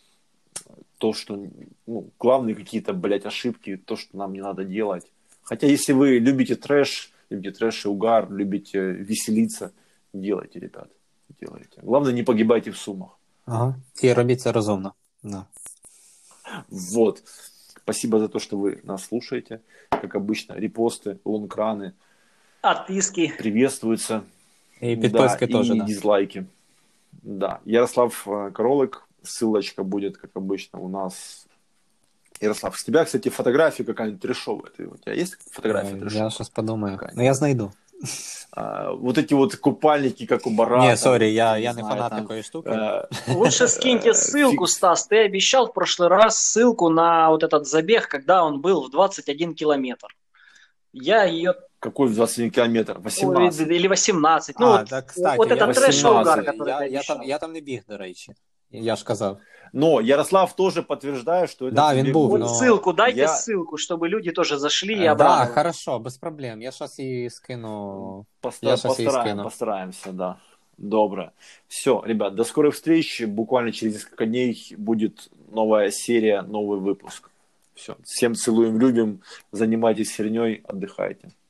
то, что, ну, главные какие-то, блядь, ошибки, то, что нам не надо делать. Хотя, если вы любите трэш, любите трэш и угар, любите веселиться, делайте, ребят, делайте. Главное, не погибайте в Сумах. Ага. И робіть це розумно. Да. Вот. Спасибо за то, что вы нас слушаете. Как обычно, репосты, лонкраны. Отписки. Приветствуются. И подписки да, тоже, и да. дизлайки. Да. Ярослав Королик. Ссылочка будет, как обычно, у нас. Ярослав, с тебя, кстати, фотография какая-нибудь трешовая. Ты, у тебя есть фотография трешовая? Я сейчас подумаю. Ну, я знайду. А, вот эти вот купальники, как у Барата. Не, сори, я, я не, не фанат там, такой штуки. А, Лучше скиньте ссылку, Стас. Ты обещал в прошлый раз ссылку на вот этот забег, когда он был в двадцать один километр. Я ее... Какой в двадцать один километр? восемнадцать. Или восемнадцать. Ну, а, вот, да, кстати, вот этот трэш-угар, который я, ты я, там, я там не біг, до речі. Я ж казав. Но Ярослав тоже подтверждает, что это... Да, він був, вот но... ссылку, дайте я... ссылку, чтобы люди тоже зашли и Да, обрадовались. Да, хорошо, без проблем. Я сейчас и скину. Поста- я сейчас постараем, скину. Постараемся, да. Добро. Все, ребят, до скорых встреч. Буквально через несколько дней будет новая серия, новый выпуск. Все. Всем целуем, любим. Занимайтесь херней, отдыхайте.